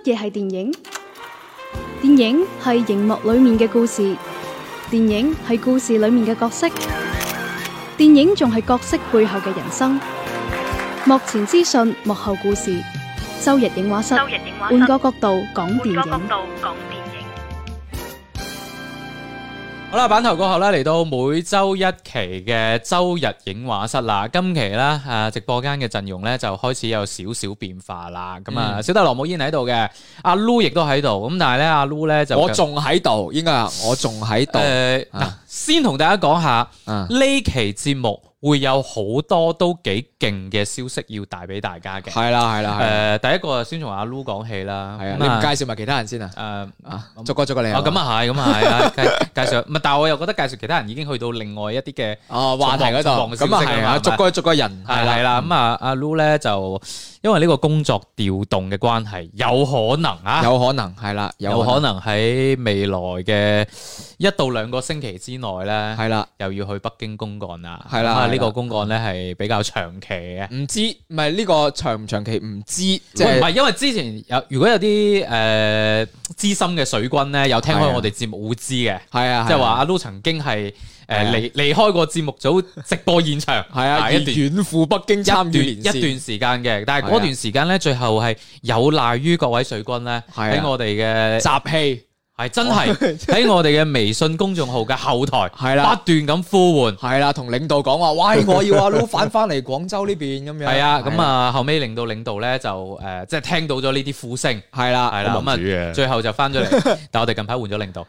嘢係電影？電影係熒幕裏面嘅故事，電影係故事裏面嘅角色，電影仲係角色背後嘅人生。幕前資訊，幕後故事。周日映畫室，換個角度講電影。 好啦，版頭過後咧，嚟到每周一期嘅周日映畫室啦。今期咧直播間嘅陣容咧就開始有少少變化啦。咁啊，小弟羅姆依然喺度嘅，阿 Lu 亦都喺度。咁但係咧，阿 Lu 咧就我仲喺度，應該係我仲喺度。 先同大家講下呢期節目會有好多都幾勁嘅消息要帶俾大家嘅。 係啦， 第一個先從阿 Lu 講起啦。 係啊，你唔介紹埋其他人先啊？逐個嚟啊。 咁啊係，介紹。唔係，但係我又覺得介紹其他人已經去到另外一啲嘅話題嗰度。咁啊係啊，逐個人係啦。咁啊，阿 Lu 咧就因為呢個工作調動嘅關係，有可能係啦，有可能喺未來嘅1到2個星期之內咧，係啦，又要去北京公幹啦。係啦，呢個公幹咧係比較長期嘅， 唔知唔係呢個長唔長期唔知，即係唔係因為之前如果有啲資深嘅水軍咧，有聽開我哋節目會知嘅，係啊，即係話阿 Lu 曾經係離開過節目組直播現場，係啊， 遠赴北京參與連線一段時間嘅，但係嗰段時間咧，最後係有賴於各位水軍咧喺我哋嘅集氣。 係真係喺我哋嘅微信公眾號嘅後台，係啦，不斷咁呼喚， 係啦，同領導講話，喂，我要阿 Lu 翻嚟廣州呢邊咁樣。 係啊，咁啊後尾令到領導咧就即係聽到咗呢啲呼聲，係啦，咁啊最後就翻咗嚟，但我哋近排換咗領導，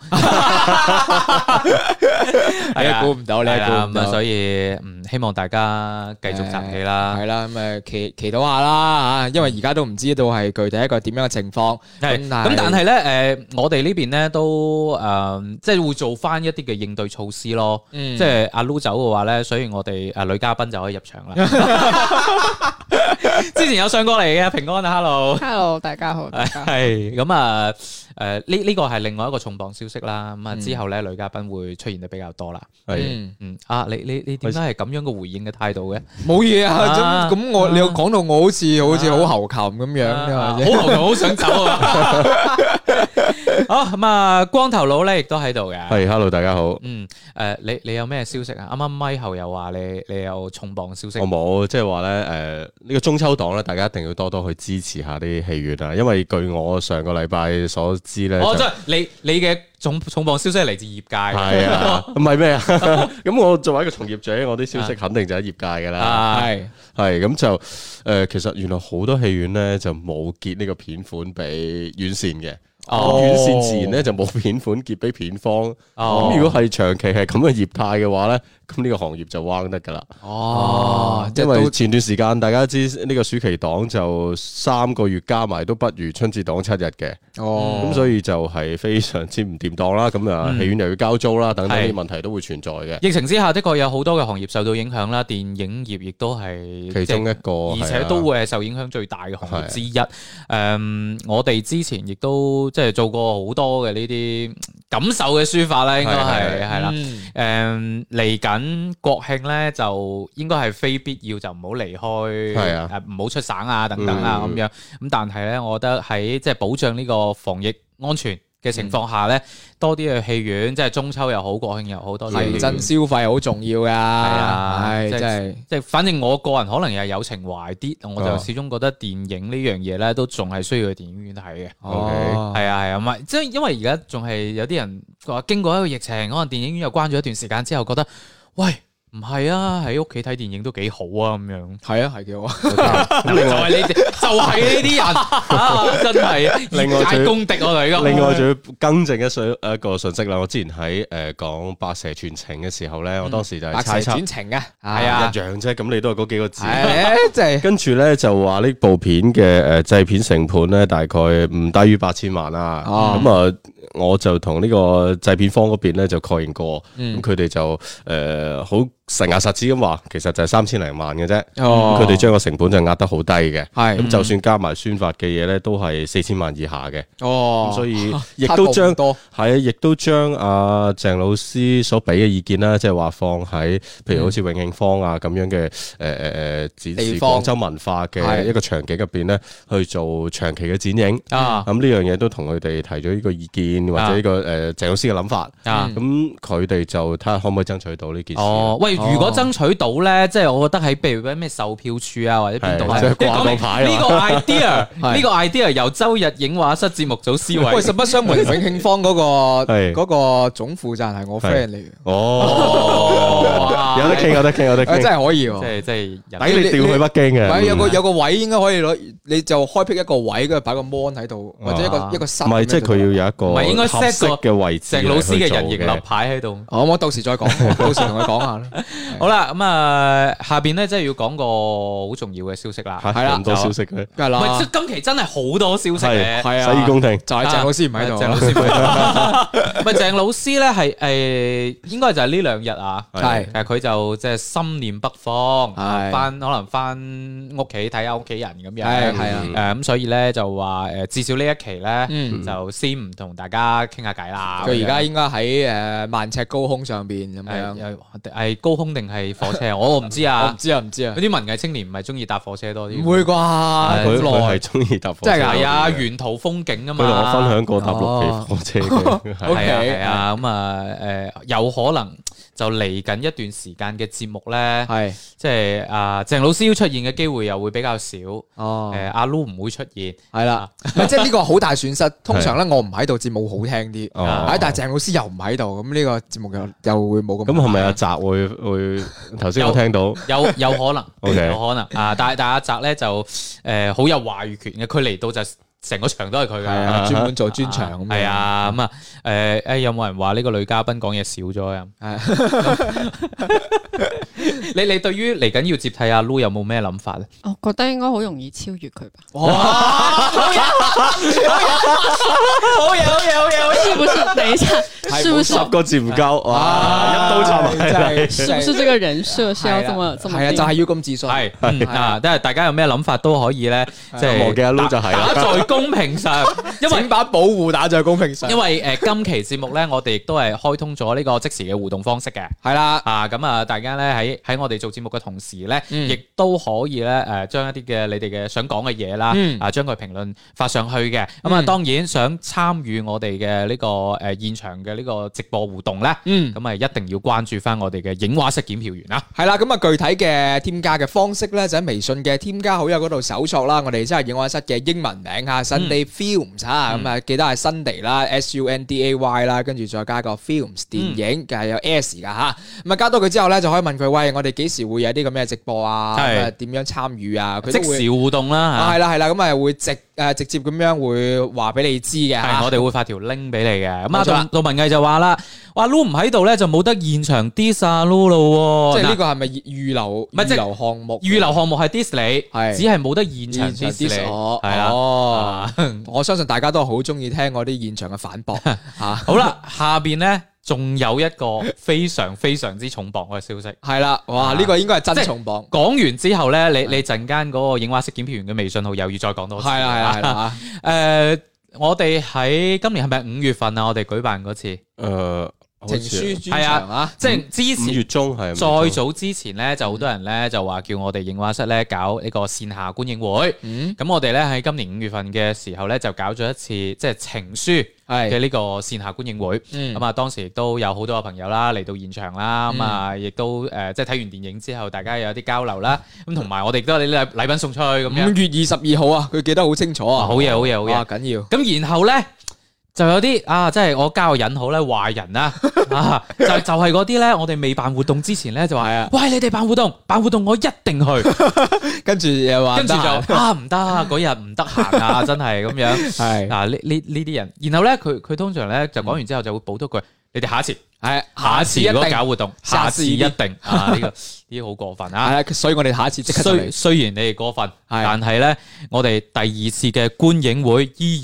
係啊，估唔到呢， 咁啊所以希望大家繼續集氣啦， 係啦，咁啊祈禱下啦嚇，因為而家都唔知道係具體一個點樣嘅情況， 咁但係咧我哋呢邊咧。都即係會做翻一啲嘅應對措施咯。即係阿 Lu 走嘅話咧，所以我哋女嘉賓就可以入場啦。之前有上過嚟嘅平安啊 ，Hello， 大家好， 係咁啊。呢個係另外一個重磅消息啦。咁啊之後咧，女嘉賓會出現得比較多啦。你點解係咁樣嘅回應嘅態度嘅？ 冇嘢啊，咁你又講到我好似好猴擒咁樣， 好猴擒，好想走啊！好咁啊，光頭佬咧亦都喺度嘅。 係，hello， 大家好。 你有咩消息啊？啱啱咪後又話你有重磅消息。 我冇，即係話咧，呢個中秋檔咧，大家一定要多多去支持下啲戲院啊，因為據我上個禮拜所知咧， 即係你嘅重磅消息係嚟自業界。 係啊，唔係咩啊？咁我作為一個從業者，我啲消息肯定就喺業界噶啦。係咁就其實原來好多戲院咧就冇結呢個片款俾院線嘅。院線自然咧就冇片款結俾片方。咁如果係長期係咁嘅業態嘅話咧，咁呢個行業就彎得噶啦。因為前段時間大家知呢個暑期檔就3個月加埋都不如春節檔7日嘅。咁所以就係非常之唔掂當啦。咁啊戲院又要交租啦，等等啲問題都會存在嘅。 疫情之下的確有好多嘅行業受到影響啦，電影業亦都係其中一個， 而且都會係受影響最大嘅行業之一。我哋之前亦都即係做過好多嘅呢啲感受嘅抒發啦，應該係啦。嚟緊國慶咧，就應該係非必要就唔好離開，唔好出省啊等等啊咁樣。咁但係咧，我覺得喺即係保障呢個防疫安全嘅情況下咧，多啲去戲院，即係中秋又好，國慶又好，多提振消費好重要噶。係啊，即係，反正我個人可能又係有情懷啲，我就始終覺得電影呢樣嘢咧，都仲係需要去電影院睇嘅。係啊，唔係，即係因為而家仲係有啲人話經過一個疫情，可能電影院又關咗一段時間之後，覺得喂。唔係啊，喺屋企睇電影都幾好啊，咁樣。係啊，係幾好啊。就係你哋，就係呢啲人，真係另外公敵我哋。 另外仲要更正一個信息啦。我之前喺講《白蛇傳情》嘅時候咧，我當時就係猜測。 白蛇傳情啊， 係啊，一樣啫。咁你都係嗰幾個字。 即係跟住咧就話呢部片嘅製片成本咧，大概唔低於8000萬啦。咁我就同呢個製片方嗰邊咧就確認過，咁佢哋就好實牙實齒咁話，其實就係3000零萬嘅啫。佢哋將個成本就壓得好低嘅，咁就算加埋宣發嘅嘢咧，都係4000萬以下嘅。咁所以亦都將亦都將阿鄭老師所俾嘅意見啦，即係話放喺譬如好似永慶坊啊咁樣嘅展示廣州文化嘅一個場景入邊咧，去做長期嘅展映。咁呢樣嘢都同佢哋提咗呢個意見或者呢個鄭老師嘅諗法。咁佢哋就睇下可唔可以爭取到呢件事。 喂，如果爭取到咧，即係我覺得喺譬如咩售票處啊或者邊度咧， 掛個牌。 呢個 idea 由周日影畫室節目組思維。 喂，實不相瞞，永慶坊嗰個總負責人係我 friend 嚟嘅。 有得傾，有得傾，有得傾， 真係可以喎。 即係抵你調去北京嘅。 有個位應該可以攞，你就開闢一個位，跟住擺個 mon 喺度，或者一個室。 唔係，即係佢要有一個唔係應該 set 嘅位置。 鄭老師嘅人形立牌喺度。 我到時再講，到時同佢講下啦。 好啦，咁啊，下邊咧即係要講個好重要嘅消息啦。 係啦，咁多消息嘅。 梗係啦。 喂，今期真係好多消息嘅。 係啊， 洗耳恭聽。 就係鄭老師唔喺度。 鄭老師唔喺度。咪鄭老師咧係應該就係呢兩日啊。係。其實佢就即係心念北方，可能翻屋企睇下屋企人咁樣。係啊。咁所以咧就話至少呢一期咧就先唔同大家傾下偈啦。 佢而家應該喺萬尺高空上邊咁樣。 係高空定係火車？我唔知啊。 我唔知啊，唔知啊。 嗰啲文藝青年唔係中意搭火車多啲？ 唔會啩？ 佢係中意搭火車。 真係啊！沿途風景啊嘛。 佢同我分享過搭綠皮火車嘅。 係啊，咁啊有可能就嚟緊一段時間嘅節目咧，即係鄭老師要出現嘅機會又會比較少。阿 Lu 唔會出現。係啦， 即係呢個好大損失。通常咧我唔喺度，節目好聽啲。但係鄭老師又唔喺度，咁呢個節目又會冇咁。 咁係咪阿澤會頭先我聽到有可能，有可能啊！ 但係阿澤咧就好有話語權嘅，佢嚟到就成個場都係佢嘅， 專門做專場咁。 係啊，咁啊有冇人話呢個女嘉賓講嘢少咗啊？你對於嚟緊要接替阿 Lu 有冇咩諗法咧？ 我覺得應該好容易超越佢吧。 哇！好嘢！ 是不是？等一下，是不是 10個字唔夠？哇！一刀插埋， 是不是這個人設是要這麼？ 係啊，就係要咁自信。 係啊，即係大家有咩諗法都可以咧，即係忘記阿 Lu 就係打在公屏上，因為把保護打在公屏上。 因為今期節目咧，我哋亦都係開通咗呢個即時嘅互動方式嘅。係啦，咁啊，大家咧喺我哋做節目嘅同時咧，亦都可以咧將一啲嘅你哋嘅想講嘅嘢啦，將佢評論發上去嘅。咁啊，當然想參與我哋嘅呢個現場嘅呢個直播互動咧，咁啊一定要關注翻我哋嘅影畫室檢票員啦。 係啦，咁啊具體嘅添加嘅方式咧，就喺微信嘅添加好友嗰度搜索啦。我哋即係影畫室嘅英文名嚇，Sunday Films 嚇，咁啊記得係 Sunday 啦，SUNDAY 啦，跟住再加個 Films 電影，嘅係有 S 㗎嚇。咁啊加到佢之後咧，就可以問佢，喂，我哋幾時會有啲咁嘅直播啊？點樣參與啊？佢即時互動啦。 係啦，咁啊會直接咁樣會話俾你知嘅。 係，我哋會發條 link 俾你嘅。咁啊，杜文藝就話啦，話 Lu 唔喺度咧，就冇得現場 diss 阿 Lu 咯。 即係呢個係咪預留項目？ 預留項目係 diss 你，只係冇得現場 diss 你。係啊， 我相信大家都好中意聽我啲現場嘅反駁。 好啦，下邊咧仲有一個非常非常之重磅嘅消息。 係啦，哇！呢個應該係真重磅。 講完之後咧，你陣間嗰個影畫室檢票員嘅微信號又要再講多次。 係啦。 我哋喺今年係咪5月份啊？我哋舉辦嗰次情書專場啊， 即係之前 5月中係再早之前咧，就好多人咧就話叫我哋影畫室咧搞呢個線下觀影會。咁我哋咧喺今年5月份嘅時候咧就搞咗一次即係情書嘅呢個線下觀影會。咁啊當時亦都有好多嘅朋友啦嚟到現場啦，咁啊亦都即係睇完電影之後，大家有啲交流啦。咁同埋我哋都有啲禮品送出去咁樣。 5月22號啊，佢記得好清楚啊！ 好嘢， 緊要。 咁然後咧。就有啲即係我加個引號咧，壞人啦，就係嗰啲咧，我哋未辦活動之前咧就話，喂，你哋辦活動我一定去， 跟住又話， 跟住就唔得，嗰日唔得閒啊，真係咁樣。係呢啲人，然後咧佢通常咧就講完之後就會補多句，你哋下一次如果搞活動，下次一定呢啲好過分啊！ 所以我哋下一次即刻。 雖然你哋過分，但係咧我哋第2次嘅觀影會依然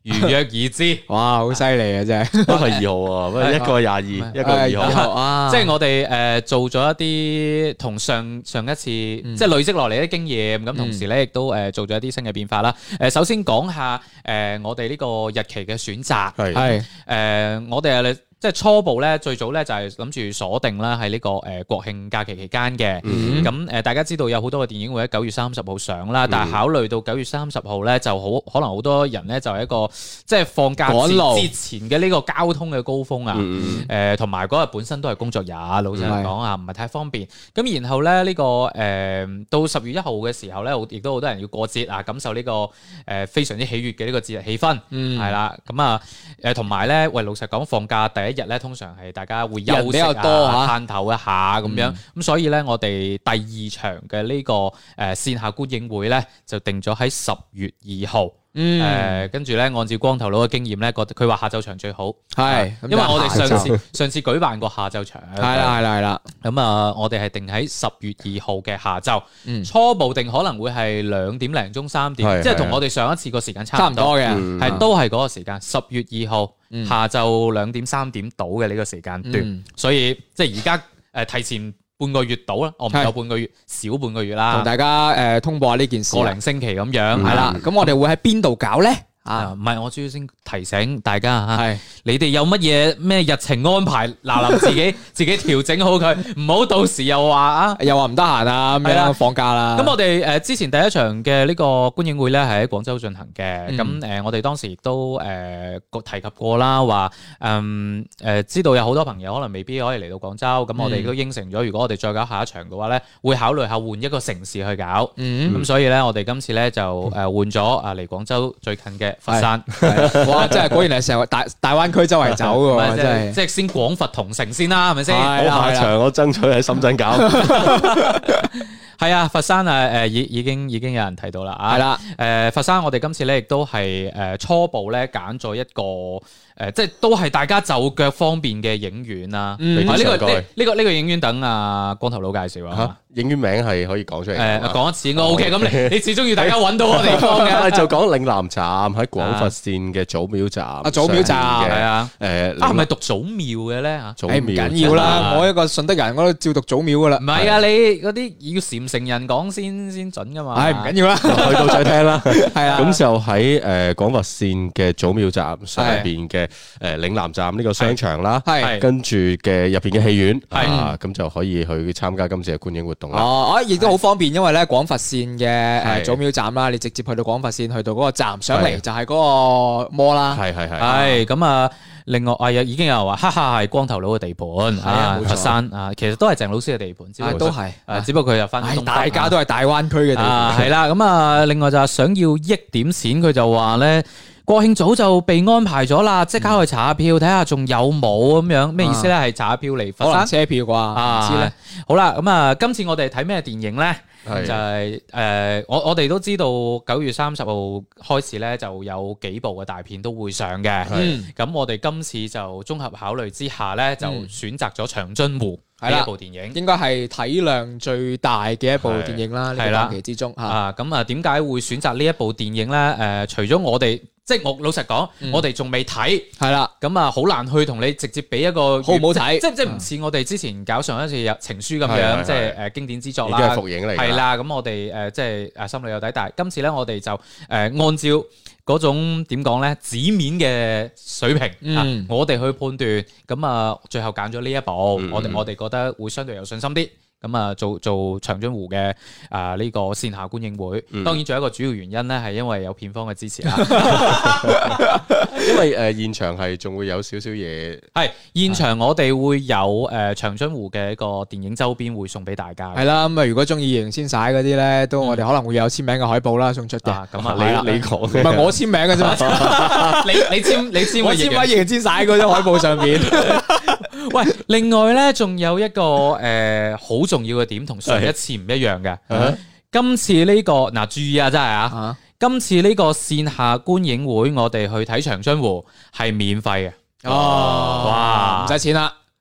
如約而至。 哇，好犀利啊，真係。 都係2號啊，不過一個係22，一個係2號。 啊， 即係我哋做咗一啲同上一次即係累積落嚟啲經驗，咁同時咧亦都做咗一啲新嘅變化啦。首先講下我哋呢個日期嘅選擇係我哋即係初步咧，最早咧就係諗住鎖定啦，係呢個國慶假期期間嘅。咁大家知道有好多嘅電影會喺9月30號上啦，但係考慮到9月30號咧，就可能好多人咧就係一個即係放假之前嘅呢個交通嘅高峰啊。同埋嗰日本身都係工作日，老實講啊，唔係太方便。咁然後咧呢個到10月1號嘅時候咧，亦都好多人要過節啊，感受呢個非常之喜悅嘅呢個節日氣氛，係啦。咁啊同埋咧，喂，老實講，放假第一日咧，通常係大家會休息啊、攤頭一下咁樣，咁所以咧，我哋第2場嘅呢個線下觀影會咧，就定咗喺10月2號。跟住咧，按照光頭佬嘅經驗咧，佢話下晝場最好，係，因為我哋上次舉辦過下晝場，係啦。咁啊，我哋係定喺10月2號嘅下晝，初步定可能會係2點零鐘3點，即係同我哋上一次個時間差唔多嘅，係都係嗰個時間，10月2號下晝2點3點到嘅呢個時間段，所以即係而家提前半個月到啦，我唔夠半個月，少半個月啦， 同大家通報下呢件事， 個零星期咁樣，係啦。 咁我哋會喺邊度搞咧？ 唔係，我主要先提醒大家嚇，你哋有乜嘢咩日程安排，嗱自己調整好佢，唔好到時又話唔得閒啊咁樣放假啦。咁我哋之前第一場嘅呢個觀影會咧係喺廣州進行嘅，咁我哋當時亦都提及過啦，話知道有好多朋友可能未必可以嚟到廣州，咁我哋都應承咗，如果我哋再搞下一場嘅話咧，會考慮下換一個城市去搞。咁所以咧，我哋今次咧就換咗離廣州最近嘅佛山。 哇！真係果然係成個大灣區周圍走嘅，真係即係先廣佛同城先啦，係咪先？ 我下場我爭取喺深圳搞。 係啊，佛山已經有人提到啦，係啦。佛山我哋今次咧亦都係初步咧揀咗一個即係都係大家就腳方便嘅影院啦。呢個影院等光頭佬介紹啊。 影院名係可以講出嚟。 講一次應該 OK。咁你始終要大家揾到個地方嘅。 就講嶺南站喺廣佛線嘅祖廟站。 祖廟站係啊。係咪讀祖廟嘅咧嚇？ 祖廟唔緊要啦，我一個順德人我都照讀祖廟噶啦。唔係啊，你嗰啲要禪城人講先準噶嘛。 係唔緊要啦， 去到再聽啦。 係啊。 咁就喺廣佛線嘅祖廟站上邊嘅嶺南站呢個商場啦，跟住嘅入邊嘅戲院，咁就可以去參加今次嘅觀影活動啦。 亦都好方便，因為咧廣佛線嘅祖廟站啦，你直接去到廣佛線，去到嗰個站上嚟就係嗰個摩啦。 係咁啊！另外已經有人話，哈哈係光頭佬嘅地盤，佛山其實都係鄭老師嘅地盤， 都係， 只不過佢又翻。 大家都係大灣區嘅地盤。 係啦，咁啊，另外就係想要益點錢，佢就話咧。國慶早就被安排咗啦，即刻去查下票，睇下仲有冇咁樣。咩意思咧？係查下票嚟佛山車票啩？唔知咧。 好啦，咁啊，今次我哋睇咩電影咧？就係我哋都知道9月30號開始咧，就有幾部嘅大片都會上嘅。咁我哋今次就綜合考慮之下咧，就選擇咗《長津湖》呢一部電影， 應該係體量最大嘅一部電影啦。呢個檔期之中咁啊，點解會選擇呢一部電影咧？除咗我哋。即係我老實講，我哋仲未睇，係啦，咁啊好難去同你直接俾一個好唔好睇， 即係唔似我哋之前搞上一次有情書咁樣，即係經典之作啦， 已經係復映嚟， 係啦，咁我哋即係心裏有底，但係今次咧我哋就按照嗰種點講咧紙面嘅水平，我哋去判斷，咁啊最後揀咗呢一部，我哋覺得會相對有信心啲。咁啊，做長津湖嘅呢個線下觀影會，當然仲有一個主要原因咧，係因為有片方嘅支持啦。 因為現場係仲會有少少嘢， 係現場我哋會有長津湖嘅一個電影周邊會送俾大家。 係啦，咁啊如果中意贏先曬嗰啲咧，都我哋可能會有簽名嘅海報啦送出嘅。 咁啊， 你講，唔係我簽名嘅啫嘛。 你簽我簽喺贏先曬嗰張海報上面。 喂，另外咧，仲有一個好重要嘅點，同上一次唔一樣嘅。今次呢個注意啊，真係今次呢個線下觀影會，我哋去睇長津湖係免費嘅。 哇，唔使錢啦。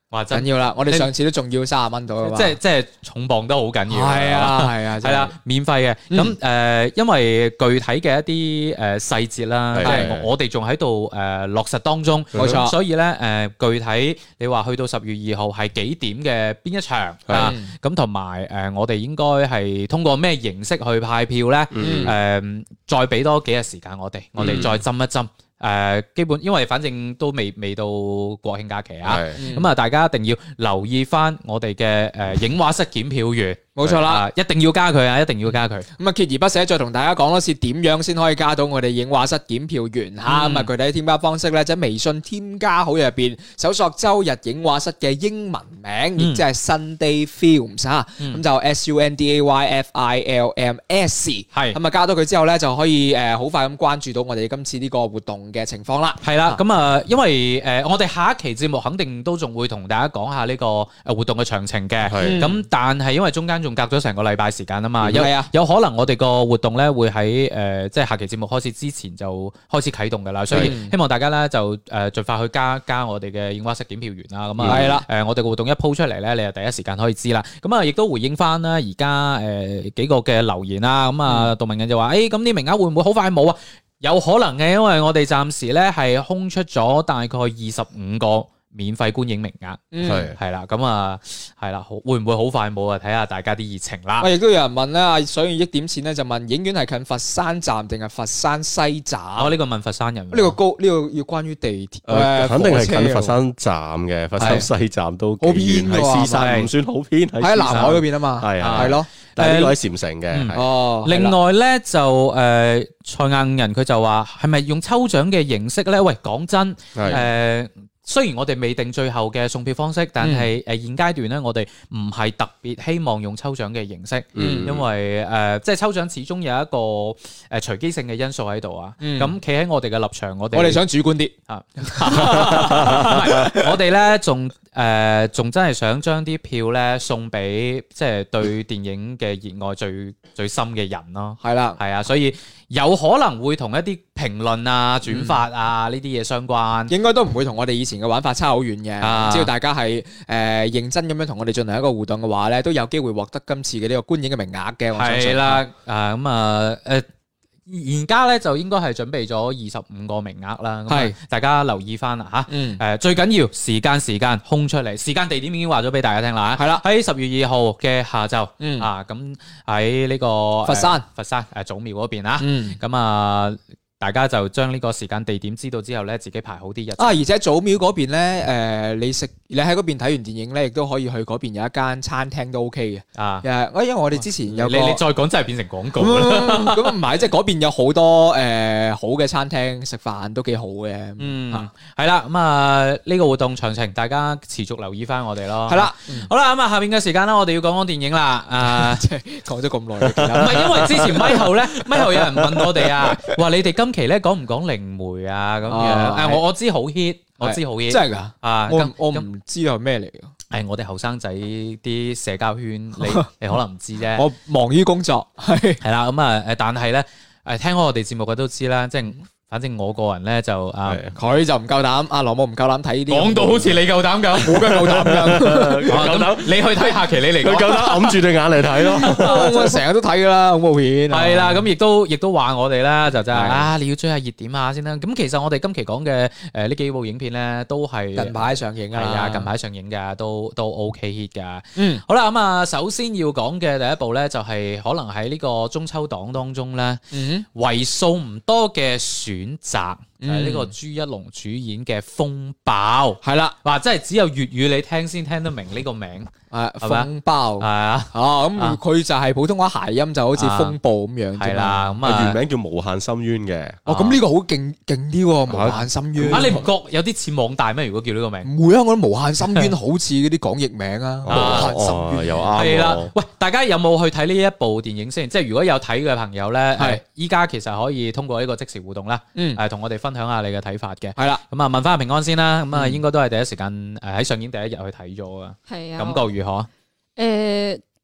哇， 緊要啦！我哋上次都仲要30蚊到啊嘛， 即係重磅都好緊要。 係啊， 係啦，免費嘅。咁因為具體嘅一啲細節啦，我哋仲喺度落實當中， 冇錯。 所以咧具體你話去到10月2號係幾點嘅邊一場啊？咁同埋我哋應該係通過咩形式去派票咧？再俾多幾日時間我哋再斟一斟。基本因為反正都未到國慶假期啊，咁啊大家一定要留意翻我哋嘅影畫室檢票員。冇錯啦，一定要加佢啊！一定要加佢。 咁啊，鍥而不捨再同大家講多次點樣先可以加到我哋影畫室檢票員嚇。咁啊，具體添加方式咧，就喺微信添加好友入邊搜索周日影畫室嘅英文名，亦即係 Sunday Films 嚇。咁就 SUNDAYFILMS。係。咁啊，加到佢之後咧，就可以好快咁關注到我哋今次呢個活動嘅情況啦。 係啦，咁啊，因為我哋下一期節目肯定都仲會同大家講下呢個活動嘅詳情嘅。咁但係因為中間仲隔咗成個禮拜時間啊嘛，有可能我哋個活動咧會喺即係下期節目開始之前就開始啟動㗎啦，所以希望大家咧就盡快去加我哋嘅映畫室檢票員啦。咁啊，我哋個活動一鋪出嚟咧，你就第一時間可以知啦。咁啊，亦都回應翻啦，而家幾個嘅留言啦。咁啊，杜明人就話：咁啲名額會唔會好快冇啊？有可能嘅，因為我哋暫時咧係空出咗大概25個免費觀影名額，係啦，咁啊，係啦，會唔會好快冇啊？睇下大家啲熱情啦。 亦都有人問咧，想要益點錢咧，就問影院係近佛山站定係佛山西站？ 呢個問佛山人。 呢個要關於地鐵， 肯定係近佛山站嘅，佛山西站都幾遠，係獅山，唔算好偏，喺南海嗰邊啊嘛，係咯。 但係呢個喺禪城嘅。 哦。 另外咧就蔡硬人佢就話係咪用抽獎嘅形式咧？喂，講真雖然我哋未定最後嘅送票方式，但係現階段咧，我哋唔係特別希望用抽獎嘅形式，因為即係抽獎始終有一個隨機性嘅因素喺度啊。咁企喺我哋嘅立場，我哋想主觀啲啊，我哋咧仲真係想將啲票咧送俾即係對電影嘅熱愛最深嘅人咯。係啦，係啊，所以有可能會同一啲評論啊、轉發啊呢啲嘢相關， 應該都唔會同我哋以前嘅玩法差好遠嘅。只要大家係認真咁樣同我哋進行一個互動嘅話咧，都有機會獲得今次嘅呢個觀影嘅名額嘅。我相信係啦， 而家咧就應該係準備咗25個名額啦，係大家留意翻啦嚇。最緊要時間空出嚟，時間地點已經話咗俾大家聽啦。係啦，喺10月2號嘅下晝咁喺呢個佛山祖廟嗰邊啊。咁啊，大家就將呢個時間地點知道之後咧，自己排好啲日子。 而且祖廟嗰邊咧，你喺嗰邊睇完電影咧，亦都可以去嗰邊有一間餐廳都 OK 嘅。因為我哋之前有個你再講真係變成廣告啦。咁唔係，即係嗰邊有好多好嘅餐廳食飯都幾好嘅。 係啦。咁呢個活動詳情大家持續留意翻我哋咯。係啦，好啦，咁下邊嘅時間啦，我哋要講電影啦。 即係講咗咁耐，唔係因為之前咪後有人問我哋啊，話你哋今期咧講唔講靈媒啊咁樣？我知好 hit，我知好 hit， 真係噶我唔知係咩嚟嘅。 係我哋後生仔啲社交圈，你可能唔知啫。 我忙於工作， 係啦。咁但係咧聽開我哋節目嘅都知啦，即係。反正我個人咧就佢就唔夠膽，阿羅姆唔夠膽睇呢啲。 講到好似你夠膽咁， 我梗係夠膽㗎。 夠膽，你去睇下期你嚟， 佢夠膽揞住對眼嚟睇咯。 我成日都睇㗎啦，恐怖片。 係啦，咁亦都話我哋啦，就真係你要追下熱點下先啦。咁其實我哋今期講嘅呢幾部影片咧，都係近排上映啊。 係啊，近排上映㗎，都 OK hit 㗎。好啦，咁首先要講嘅第一部咧，就係可能喺呢個中秋檔當中咧，為數唔多嘅選擇係呢個朱一龍主演嘅《風暴》，係啦，哇！真係只有粵語你聽先聽得明呢個名。 風暴係啊，咁佢就係普通話諧音，就好似風暴咁樣。 係啦，咁原名叫無限深淵嘅。 咁呢個好勁啲喎，無限深淵。 你唔覺有啲似網大咩？如果叫呢個名， 唔會啊！我覺得無限深淵好似嗰啲港譯名啊。無限深淵又啱。 係啦，喂，大家有冇去睇呢一部電影先？即係如果有睇嘅朋友咧，依家其實可以通過呢個即時互動啦，同我哋分享下你嘅睇法嘅。係啦，咁問翻下平安先啦。咁應該都係第一時間喺上映第一日去睇咗噶。 係啊， 感覺如何？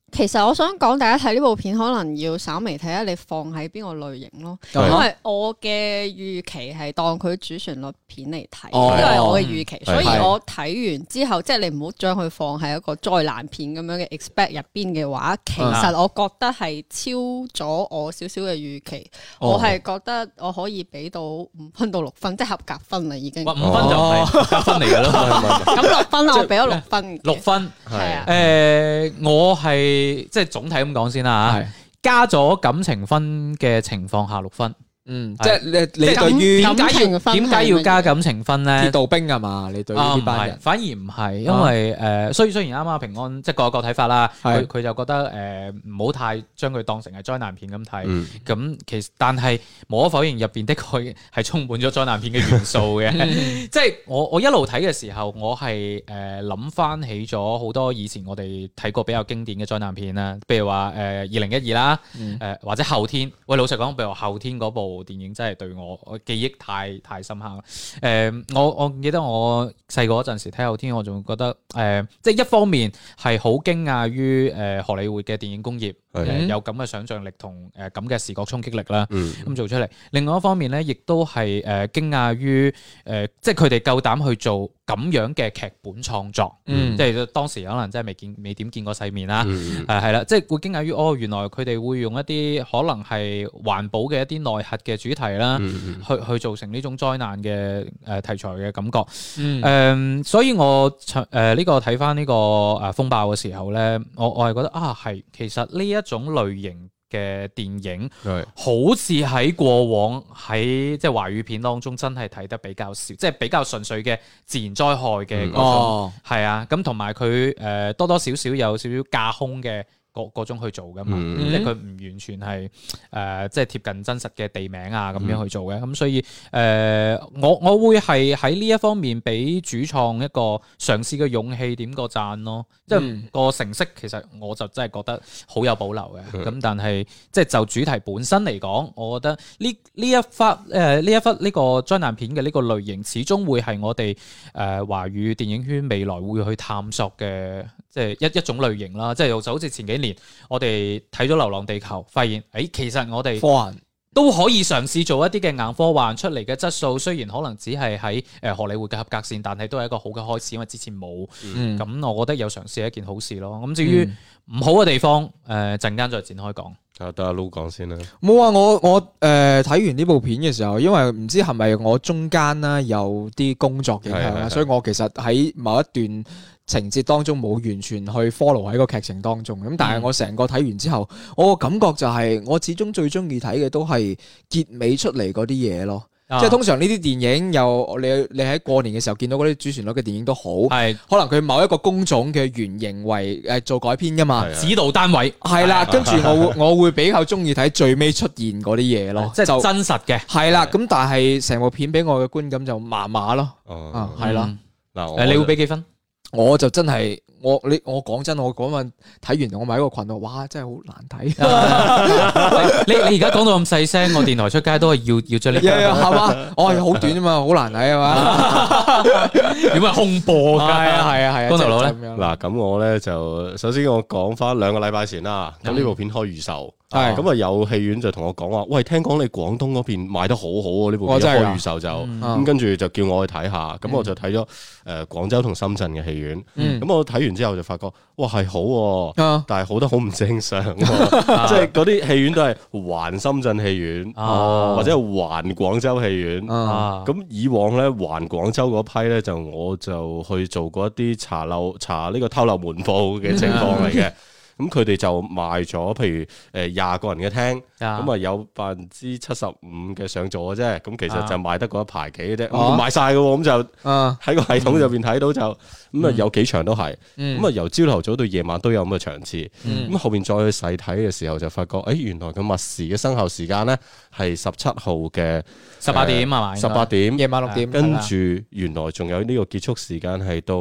其實我想講，大家睇呢部片可能要稍微睇下你放喺邊個類型咯， 係因為我嘅預期係當佢主旋律片嚟睇， 哦呢個係我嘅預期， 係所以我睇完之後，即係你唔好將佢放喺一個災難片咁樣嘅 expect 入邊嘅話，其實我覺得係超咗我少少嘅預期，我係覺得我可以俾到5分到6分，即係合格分啦已經。 哇，5分就唔係合格分嚟㗎咯。 咁6分我俾咗6分嘅。 6分係啊。 我係即係總體咁講先啦嚇，加咗感情分嘅情況下6分。 即係你對於點解要加感情分咧？ 鐵道兵係嘛？你對於呢班人反而唔係，因為雖然啱啱平安即係各有各睇法啦，佢就覺得唔好太將佢當成係災難片咁睇。咁其實但係無可否認入邊的確係充滿咗災難片嘅元素嘅。即係我一路睇嘅時候，我係諗翻起咗好多以前我哋睇過比較經典嘅災難片啦，譬如話2012啦，或者後天。喂，老實講，譬如話後天嗰部電影真係對我記憶太深刻啦。我記得我細個嗰陣時睇後天，我仲覺得即係一方面係好驚訝於荷里活嘅電影工業有咁嘅想像力同咁嘅視覺衝擊力啦，咁做出嚟。另外一方面咧，亦都係驚訝於即係佢哋夠膽去做咁樣嘅劇本創作，即係當時可能真係未點見過世面啦，係啦，即係會驚訝於原來佢哋會用一啲可能係環保嘅一啲內核嘅主題啦，去做成呢種災難嘅題材嘅感覺。所以我呢個睇翻呢個風暴嘅時候咧，我係覺得係其實呢一種類型嘅電影，好似喺過往喺即係華語片當中真係睇得比較少，即係比較純粹嘅自然災害嘅嗰種，係啊，咁同埋佢多多少少有少少架空嘅嗰種去做噶嘛，即係佢唔完全係即係貼近真實嘅地名啊咁樣去做嘅，咁所以我會係喺呢一方面俾主創一個嘗試嘅勇氣點個讚咯，即係個成色其實我就真係覺得好有保留嘅，咁但係即係就主題本身嚟講，我覺得呢一忽呢個災難片嘅呢個類型，始終會係我哋華語電影圈未來會去探索嘅，即係一種類型啦，即係就好似前幾年我哋睇咗《流浪地球》，發現其實我哋科幻都可以嘗試做一啲嘅硬科幻出嚟嘅質素，雖然可能只係喺荷里活嘅合格線，但係都係一個好嘅開始，因為之前冇，咁我覺得有嘗試係一件好事咯。咁至於唔好嘅地方，陣間再展開講。 得阿 Lu 講先啦。 冇啊！我睇完呢部片嘅時候，因為唔知係咪我中間啦有啲工作影響啦，所以我其實喺某一段情節當中冇完全去 follow 喺個劇情當中。咁但係我成個睇完之後，我個感覺就係我始終最中意睇嘅都係結尾出嚟嗰啲嘢咯。即係通常呢啲電影又你喺過年嘅時候見到嗰啲主旋律嘅電影都好，可能佢某一個工種嘅原型為做改編噶嘛， 指導單位係啦，跟住我會比較中意睇最尾出現嗰啲嘢咯， 即係真實嘅係啦。咁但係成部片俾我嘅觀感就麻麻咯，係啦。 嗱， 你會俾幾分？ 我就真係我講真，我嗰晚睇完，我咪喺個群度，哇，真係好難睇。 你而家講到咁細聲，我電台出街都係要將呢個係嘛？我係好短啊嘛，好難睇啊嘛。 點解空播㗎？係啊。 光頭佬咧， 嗱，咁我咧就首先我講翻2個禮拜前啦，咁呢部片開預售。咁有戲院就同我講話，喂，聽講你廣東嗰邊賣得好好喎，呢部片開預售就咁，跟住就叫我去睇下，咁我就睇咗廣州同深圳嘅戲院，咁我睇完之後就發覺，哇，係好，但係好得好唔正常，即係嗰啲戲院都係環深圳戲院，或者係環廣州戲院，咁以往咧環廣州嗰批咧我就去做過一啲查呢個偷漏門報嘅情況嚟嘅。咁佢哋就賣咗，譬如20個人嘅廳，咁啊有75%嘅上座嘅啫，咁其實就賣得嗰一排幾嘅啫，賣晒嘅喎，咁就喺個系統入邊睇到就咁啊有幾場都係，咁啊由朝頭早到夜晚都有咁嘅場次，咁後邊再去細睇嘅時候就發覺，原來個密匙嘅生效時間咧係17號嘅 18點係嘛 ？18點夜晚6點， 跟住原來仲有呢個結束時間係到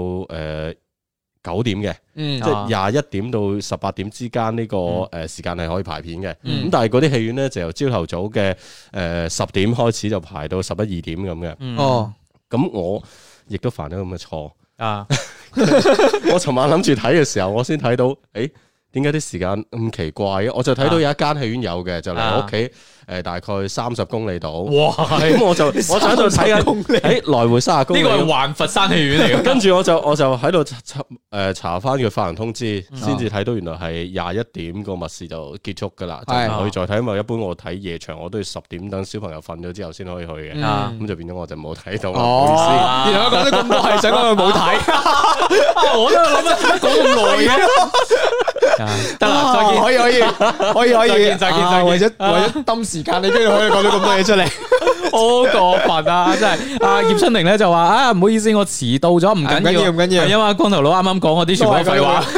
9點嘅，即係21點到18點之間呢個時間係可以排片嘅。咁但係嗰啲戲院咧就由朝頭早嘅10點開始就排到11、2點咁嘅。咁我亦都犯咗咁嘅錯。我尋晚諗住睇嘅時候，我先睇到， 點解啲時間咁奇怪嘅？我就睇到有一間戲院有嘅，就離我屋企大概30公里度。哇！咁我就喺度睇緊，來回30公里。 呢個係環佛山戲院嚟嘅。 跟住我就喺度查翻佢發行通知，先至睇到原來係21點個密室就結束㗎啦，就唔可以再睇。因為一般我睇夜場我都要10點等小朋友瞓咗之後先可以去嘅，咁就變咗我就冇睇到。唔好意思， 原來我講咗咁多係想講佢冇睇， 我都諗緊講咁耐嘅。得啦，再見， 可以，再見。為咗抌時間，你居然可以講咗咁多嘢出嚟， 好過分啊！真係，阿葉春玲咧就話唔好意思，我遲到咗，唔緊要，係因為光頭佬啱啱講嗰啲全部都廢話。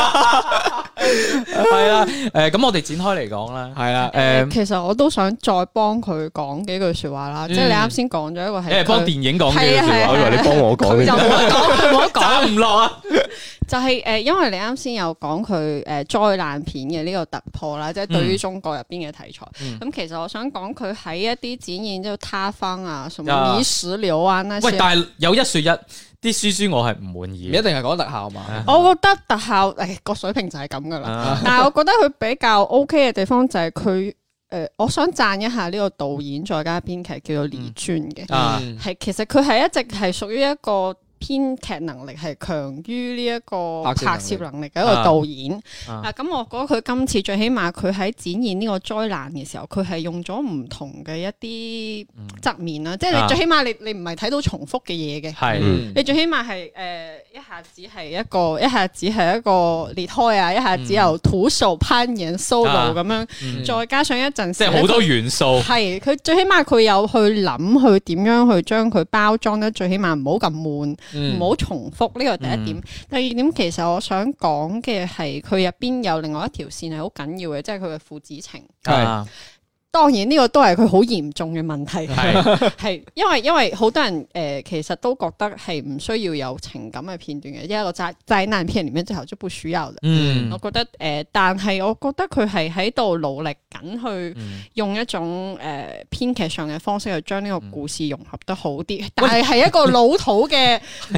係啦，咁我哋展開嚟講啦，係啦， 其實我都想再幫佢講幾句說話啦，即係你啱先講咗一個係， 幫電影講幾句說話， 我以為你幫我講， 就唔好講唔落啊！ 就係因為你啱先有講佢災難片嘅呢個突破啦，即係對於中國入邊嘅題材。咁其實我想講佢喺一啲展現，即係塌方啊、什麼泥石流啊那些。 喂，但係有一說一，啲書我係唔滿意。 一定係講特效嘛？ 我覺得特效個水平就係咁噶啦。但係我覺得佢比較 OK 嘅地方就係佢我想讚一下呢個導演再加編劇叫做李尊嘅，係其實佢係一直係屬於一個編劇能力係強於呢一個拍攝能力嘅一個導演。咁我覺得佢今次最起碼佢喺展現呢個災難嘅時候，佢係用咗唔同嘅一啲側面啦。即係你最起碼你唔係睇到重複嘅嘢嘅，你最起碼係一下子係一個裂開啊，一下子由徒手攀岩 solo 咁樣，再加上一陣時即係好多元素。 係佢最起碼佢有去諗去點樣去將佢包裝得最起碼唔好咁悶。唔好重複，呢個第一點。第二點，其實我想講嘅係佢入邊有另外一條線係好緊要嘅，即係佢嘅父子情。當然呢個都係佢好嚴重嘅問題，係因為好多人其實都覺得係唔需要有情感嘅片段嘅，一個災難片裡面最後就不需要嘅。我覺得但係我覺得佢係喺度努力緊去用一種編劇上嘅方式去將呢個故事融合得好啲，但係一個老土嘅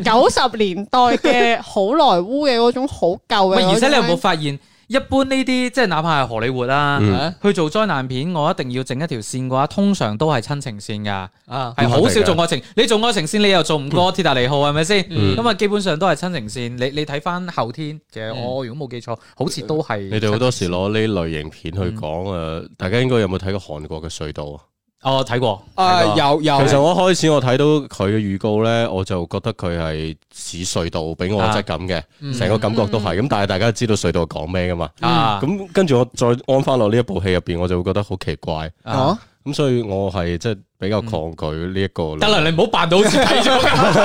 90年代嘅好萊塢嘅嗰種好舊嘅。 而且你有冇發現？一般呢啲即係哪怕係荷里活啦，去做災難片，我一定要整一條線嘅話，通常都係親情線噶，係好少做愛情。你做愛情線，你又做唔過鐵達尼號係咪先？咁啊，基本上都係親情線。你睇翻後天嘅，我如果冇記錯，好似都係。你哋好多時攞呢類型片去講大家應該有冇睇過韓國嘅隧道啊？ 哦，睇過， 有。 其實我開始我睇到佢嘅預告咧，我就覺得佢係似隧道俾我質感嘅，成個感覺都係。咁但係大家知道隧道講咩噶嘛？咁跟住我再安翻落呢一部戲入邊，我就會覺得好奇怪。咁所以我係即係比較抗拒呢一個。 得啦，你唔好扮到好似睇咗。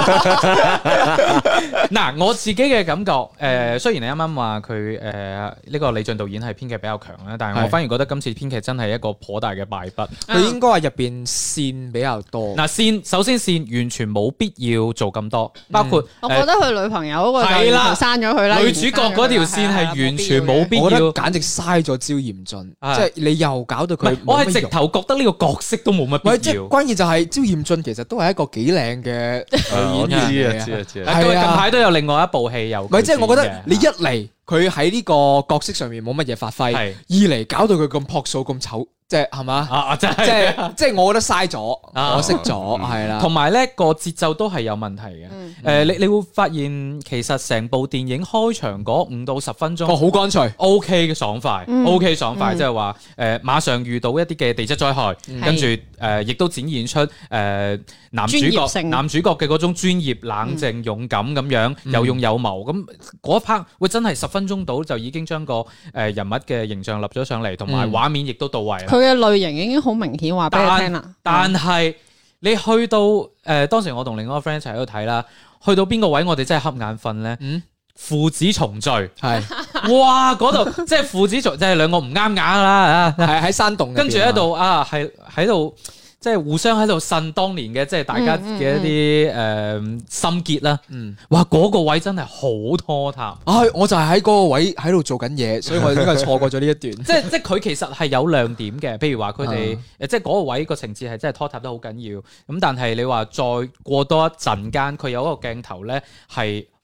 嗱，我自己嘅感覺，雖然你啱啱話佢呢個李俊導演係編劇比較強啦，但係我反而覺得今次編劇真係一個頗大嘅敗筆。 佢應該係入邊線比較多。 嗱，首先線完全冇必要做咁多，包括我覺得佢女朋友嗰個係啦，刪咗佢啦。 女主角嗰條線係完全冇必要。 我覺得簡直嘥咗焦嚴俊，即係你又搞到佢。 我係直頭覺得呢個角色都冇乜必要。 關鍵就係焦嚴俊其實都係一個幾靚嘅演員。 知啊。近排都有另外一部戲有。 唔係，即係我覺得你一嚟佢喺呢個角色上面冇乜嘢發揮，二嚟搞到佢咁樸素咁醜。即係係嘛？即係我覺得嘥咗，可惜咗，係啦。 同埋咧個節奏都係有問題嘅。你會發現其實成部電影開場嗰5到10分鐘， 好乾脆 ，OK 嘅爽快，OK 爽快，即係話馬上遇到一啲嘅地質災害，跟住亦都展現出男主角嘅嗰種專業、冷靜、勇敢咁樣，有勇有謀。咁嗰一 part 會真係10分鐘到就已經將個人物嘅形象立咗上嚟，同埋畫面亦都到位啦。 佢嘅類型已經好明顯，話俾你聽啦。 但係你去到當時我同另外一個 friend 一齊喺度睇啦，去到邊個位我哋真係瞌眼瞓咧？父子重聚係，哇！嗰度即係父子重，即係兩個唔啱眼啦， 係喺山洞， 跟住喺度係喺度。即係互相喺度呻當年嘅，即係大家嘅一啲心結啦。哇！嗰個位真係好拖沓。 我就係喺嗰個位喺度做緊嘢，所以我應該係錯過咗呢一段。 即係佢其實係有亮點嘅，譬如話佢哋即係嗰個位個情節係真係拖沓得好緊要。咁但係你話再過多一陣間，佢有一個鏡頭咧係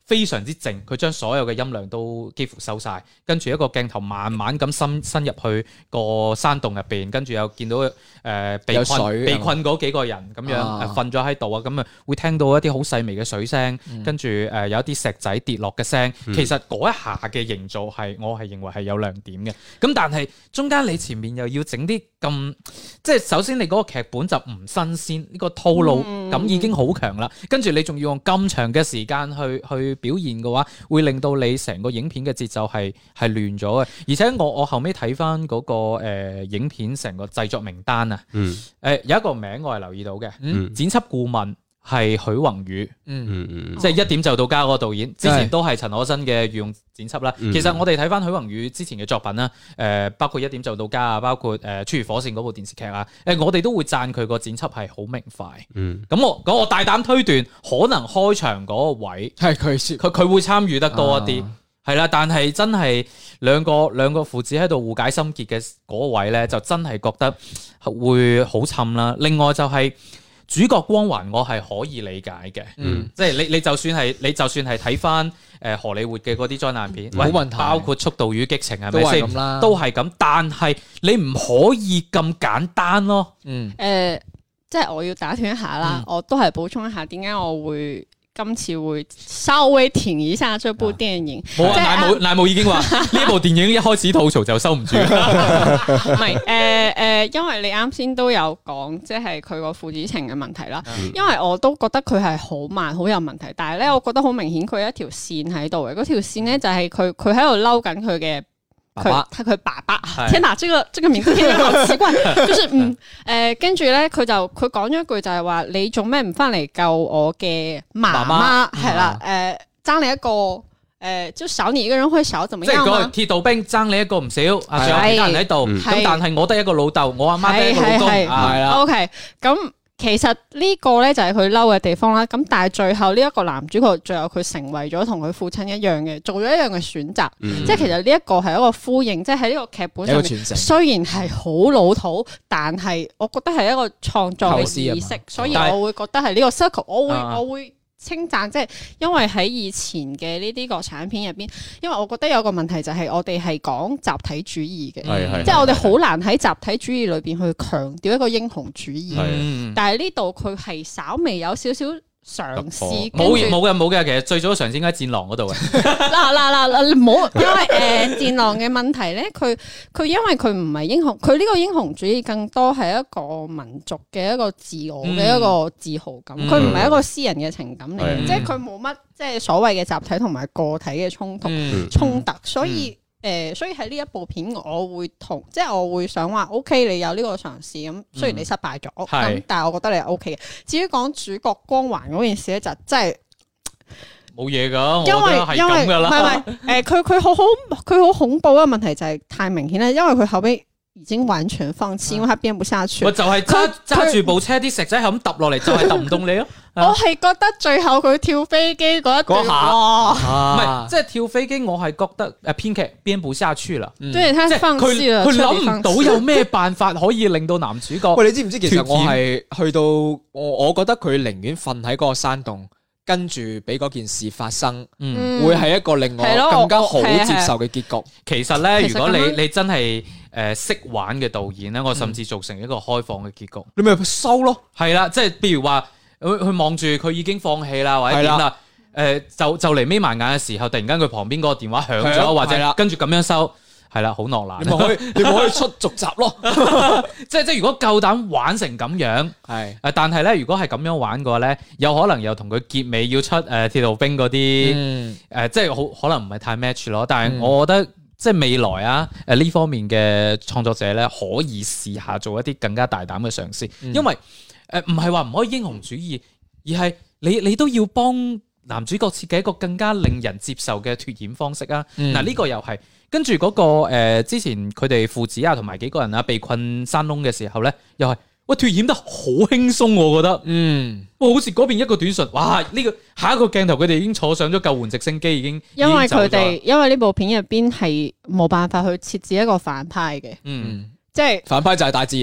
非常之靜，佢將所有嘅音量都幾乎收晒，跟住一個鏡頭慢慢咁伸入去個山洞入邊，跟住又見到被困嗰幾個人咁樣瞓咗喺度啊，咁啊會聽到一啲好細微嘅水聲，跟住有一啲石仔跌落嘅聲，其實嗰一下嘅營造我係認為係有亮點嘅。咁但係中間你前面又要整啲咁，即係首先你嗰個劇本就唔新鮮，呢個套路感已經好強啦，跟住你仲要用咁長嘅時間去表現嘅話，會令到你成個影片嘅節奏係亂咗嘅。而且我後尾睇翻嗰個影片成個製作名單啊，有一個名我係留意到嘅，剪輯顧問係許宏宇，即係一點就到家嗰個導演，之前都係陳可辛嘅御用剪輯啦。其實我哋睇翻許宏宇之前嘅作品啦，包括一點就到家啊，包括穿越火線嗰部電視劇啊，我哋都會讚佢個剪輯係好明快。咁我大膽推斷，可能開場嗰個位係佢會參與得多一啲，係啦。但係真係兩個父子喺度互解心結嘅嗰位咧，就真係覺得會好沉啦。另外就係主角光環，我係可以理解嘅，即係你就算係睇翻荷里活嘅嗰啲災難片，冇問題，包括《速度與激情》係咪先？都係咁，但係你唔可以咁簡單咯。 即係我要打斷一下啦，我都係補充一下，點解我會今次會稍微停一下這部電影。 乃武已經話呢部電影一開始吐槽就收唔住。唔係因為你啱先都有講，即係佢個父子情嘅問題啦。因為我都覺得佢係好慢，好有問題。但係咧，我覺得好明顯佢有一條線喺度嘅。嗰條線咧就係佢喺度嬲緊佢嘅。佢爸爸，天哪！這個名字聽着好奇怪，就是跟住咧，佢講咗一句就係話：你做咩唔翻嚟救我嘅媽媽？係啦，爭你一個，就少你一個人會少怎麼樣？即係嗰個鐵道兵爭你一個唔少，仲有其他人喺度，咁但係我得一個老豆，我阿媽得一個老公，係啦。OK， 咁。其實呢個咧就係佢嬲嘅地方啦，咁但係最後呢一個男主角最後佢成為咗同佢父親一樣嘅，做咗一樣嘅選擇，即係其實呢一個係一個呼應，即係喺呢個劇本上面，雖然係好老土，但係我覺得係一個創作嘅意識，所以我會覺得係呢個 circle，我會稱讚，即係因為喺以前嘅呢啲國產片入邊，因為我覺得有個問題就係我哋係講集體主義嘅，即係我哋好難喺集體主義裏邊去強調一個英雄主義，但係呢度佢係稍微有少少嘗試，冇嘅，其實最早嘅嘗試應該喺戰狼嗰度嘅。嗱，唔好，因為戰狼嘅問題咧，佢因為佢唔係英雄，佢呢個英雄主義更多係一個民族嘅一個自我嘅一個自豪感，佢唔係一個私人嘅情感嚟嘅，即係佢冇乜即係所謂嘅集體同埋個體嘅衝突，所以喺呢一部片，我會想話 OK， 你有呢個嘗試咁，雖然你失敗咗，但係我覺得你係 OK 嘅。至於講主角光環嗰件事咧，就真係冇嘢噶，我覺得係咁噶啦。 佢好恐怖嘅問題就係太明顯啦，因為佢後尾已經完全放棄，因為他編不下去。 就係揸住部車啲石仔係咁揼落嚟，就係揼唔動你咯。 我係覺得最後佢跳飛機嗰一段， 唔係即係跳飛機，我係覺得編劇編不下去啦。 對，他放棄了， 佢諗唔到有咩辦法可以令到男主角。 喂，你知唔知其實我係去到我覺得佢寧願瞓喺嗰個山洞，跟住俾嗰件事發生，會係一個令我更加好接受嘅結局。 其實咧，如果你真係識玩嘅導演咧，我甚至做成一個開放嘅結局， 你咪收咯。 係啦，即係譬如話。佢望住佢已經放棄啦，或者點啦？就嚟眯埋眼嘅時候，突然間佢旁邊嗰個電話響咗，或者跟住咁樣收，係啦，好諾蘭。 你咪可以出續集咯。 即係如果夠膽玩成咁樣，但係咧，如果係咁樣玩嘅話咧，有可能又同佢結尾要出鐵道兵嗰啲，即係好可能唔係太 match 咯。但係我覺得即係未來啊，呢方面嘅創作者咧，可以試下做一啲更加大膽嘅嘗試，因為。唔係話唔可以英雄主義，而係你都要幫男主角設計一個更加令人接受嘅脫險方式啊！嗱，呢個又係跟住嗰個之前佢哋父子啊同埋幾個人啊被困山窿嘅時候咧，又係喂脫險得好輕鬆，我覺得，好似嗰邊一個短信，哇！呢個下一個鏡頭佢哋已經坐上咗救援直升機，已經因為呢部片入邊係冇辦法去設置一個反派嘅，即係反派就係大自然咯。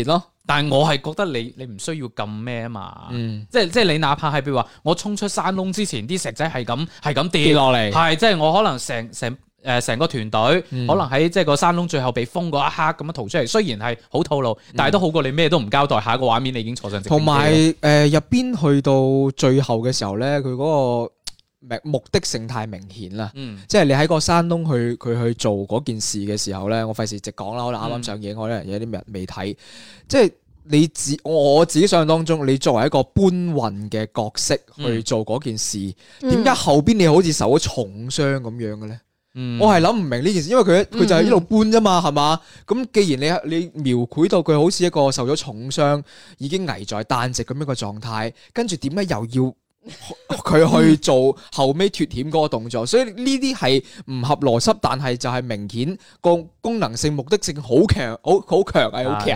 但係我係覺得你唔需要咁咩啊嘛，即係你哪怕係譬如話我衝出山窿之前啲石仔係咁跌落嚟，係即係我可能成個團隊可能喺即係個山窿最後被封嗰一刻咁樣逃出嚟，雖然係好套路，但係都好過你咩都唔交代，下一個畫面你已經坐上直升機。同埋入邊去到最後嘅時候咧，佢嗰個目的性太明顯啦，即係你喺個山窿佢去做嗰件事嘅時候咧，我費事直講啦，可能啱啱上映，可能有啲人未睇，即係我自己想象當中，你作為一個搬運嘅角色去做嗰件事，點解後邊你好似受咗重傷咁樣嘅咧？我係諗唔明呢件事，因為佢就係呢度搬啫嘛，係嘛？咁既然你描繪到佢好似一個受咗重傷，已經危在旦夕咁樣嘅狀態，跟住點解又要佢去做後尾脫險嗰個動作？所以呢啲係唔合邏輯，但係就係明顯個功能性、目的性好強，好強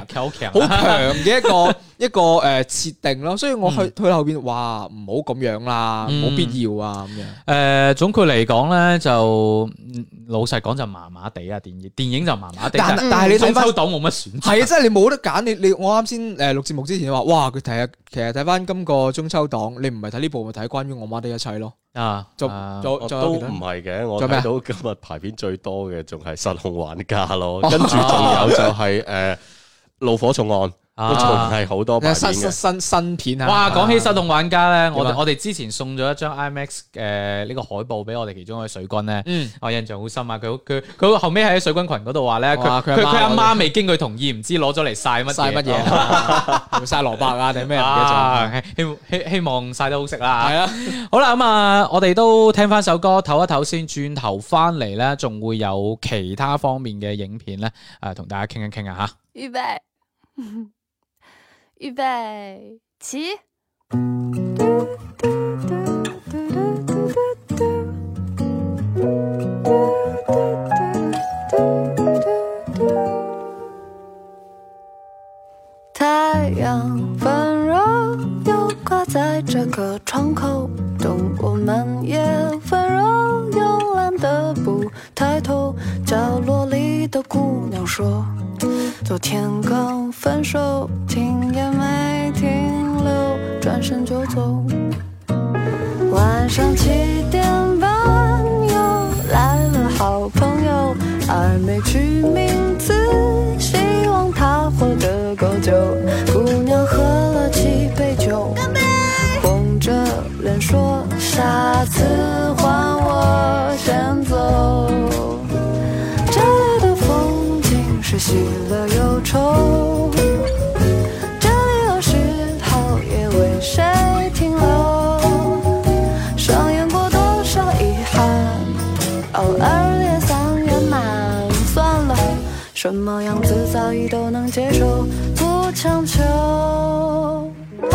嘅一個設定咯。所以我去後邊話唔好咁樣啦，冇必要啊咁樣。 總括嚟講咧，就老實講就麻麻地啊，電影就麻麻地。但係你睇翻中秋檔冇乜選擇，係啊，即係你冇得揀。你我啱先錄節目之前話，哇！佢其實睇翻今個中秋檔，你唔係睇呢部，咪睇關於我媽的一切咯。 都唔係嘅，我睇到今日排片最多嘅仲係失控玩家咯，跟住仲有就係怒火重案。都仲係好多新片啊！ 哇，講起失控玩家咧，我哋之前送咗一張 IMAX 嘅呢個海報俾我哋其中一位水軍咧，我印象好深啊！佢後尾喺水軍群嗰度話咧，佢阿媽未經佢同意，唔知攞咗嚟曬乜嘢， 曬蘿蔔啊定咩？唔記得咗，希望曬得好食啦！係啊，好啦，咁啊，我哋都聽翻首歌，唞一唞先，轉頭翻嚟咧，仲會有其他方面嘅影片咧，同大家傾一傾啊嚇。 預備。預備起！太陽溫柔又掛在這個窗口，動物們也溫柔慵懶的不抬頭，角落裡的姑娘說昨天剛分手，停也沒停留，轉身就走。晚上7點半又來了好朋友，還沒取名字，希望他活得夠久。姑娘喝了7杯酒，紅着臉說下次換我先走。這裡的風景是喜樂憂愁，這裡有時候也為誰停留，上演過多少遺憾，偶爾也算圓滿。算了，什麼樣子早已都能接受，不強求。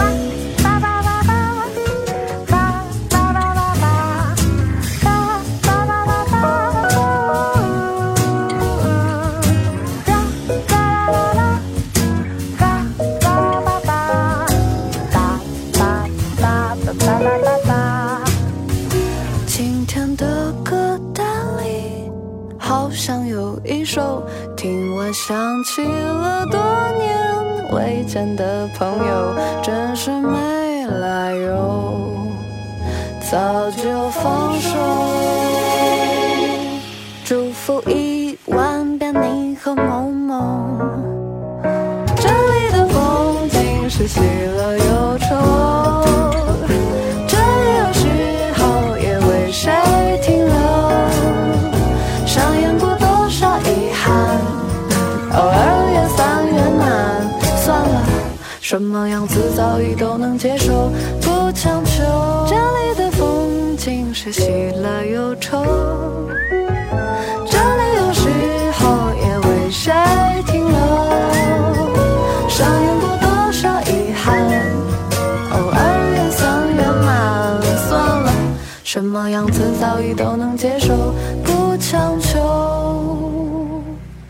今天的歌單裡好像有一首，聽完想起了多年未見的朋友，真是沒來由，早就放手。祝福1萬遍你和某某，這裡的風景是喜樂憂愁，這裡有時候也為誰停留，上演過多少遺憾，偶爾也算圓滿。算了，什麼樣子早已都能接受，不強求。這裡的風景是喜樂憂愁，這裡有時候也為誰停留，上演過多少遺憾，偶爾也算圓滿。算了，什麼樣子早已都能接受，不強求。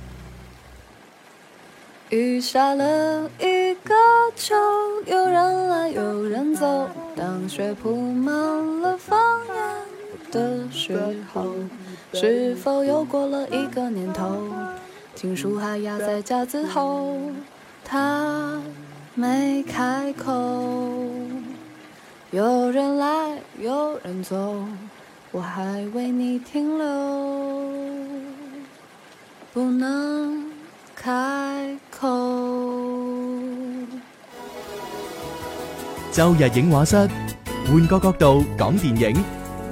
雨下了一個秋，有人來有人走，當雪鋪滿了房檐的時候，是否又過了一個年頭，情書還壓在架子後，他没开口，有人来有人走，我还为你停留，不能开口。 周日影畫室，換個角度講電影。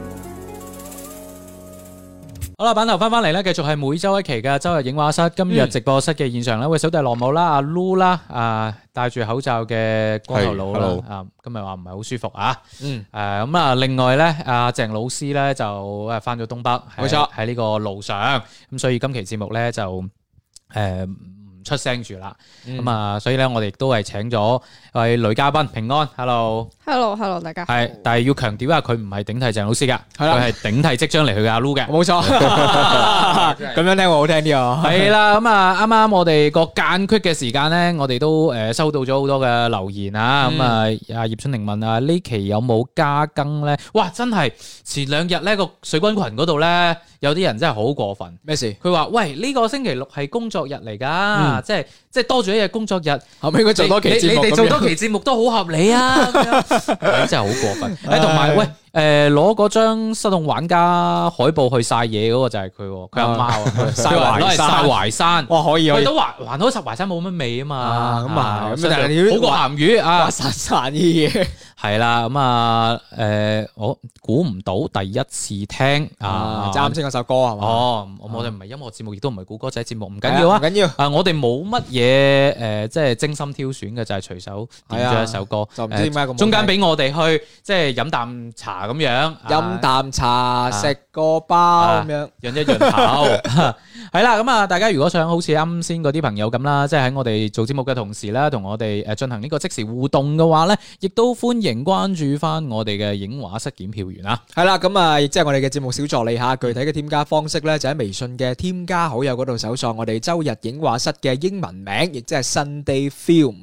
好啦，版頭翻嚟咧，繼續係每周一期嘅周日影畫室。今日直播室嘅現場咧，會小弟羅姆啦、阿 Lu 啦、戴住口罩嘅光頭佬啦，今日話唔係好舒服啊。咁啊，另外咧，阿鄭老師咧就翻咗東北，冇錯，喺呢個路上，咁所以今期節目咧就唔出聲住啦。咁啊，所以咧我哋亦都係請咗位女嘉賓平安 ，Hello， 大家。 係，但係要強調下，佢唔係頂替鄭老師噶，佢係頂替即將離去嘅阿 Lu 嘅， 冇錯。咁樣聽會好聽啲啊。 係啦，咁啊，啱啱我哋個間隙嘅時間咧，我哋都收到咗好多嘅留言啊。咁啊，阿葉春玲問啊，呢期有冇加更咧？哇，真係前兩日咧個水軍群嗰度咧，有啲人真係好過分。 咩事？ 佢話：喂，呢個星期六係工作日嚟㗎，即係多咗一日工作日， 後尾佢做多期節目， 你哋做多期節目都好合理啊！咁樣真係好過分。同埋喂。攞嗰張失控玩家海報去曬嘢嗰個就係佢阿媽啊，攞嚟曬淮山， 哇可以， 都還好，淮山冇乜味啊嘛， 咁啊， 咁但係好過鹹魚啊， 散啲嘢係啦，咁啊我估唔到第一次聽啱先嗰首歌係嘛？ 我哋唔係音樂節目，亦都唔係估歌仔節目，唔緊要啊， 唔緊要我哋冇乜嘢即係精心挑選嘅，就係隨手點咗一首歌， 就唔知點解咁中間俾我哋去即係飲啖茶。咁樣飲啖茶，食個包咁樣， 潤一潤口。係啦，咁啊，大家如果想好似啱先嗰啲朋友咁啦，即係喺我哋做節目嘅同時咧，同我哋進行呢個即時互動嘅話咧，亦都歡迎關注翻我哋嘅影畫室檢票員啊。 係啦，咁啊，亦即係我哋嘅節目小助理嚇，具體嘅添加方式咧，就喺微信嘅添加好友嗰度搜索我哋周日影畫室嘅英文名，亦即係 Sunday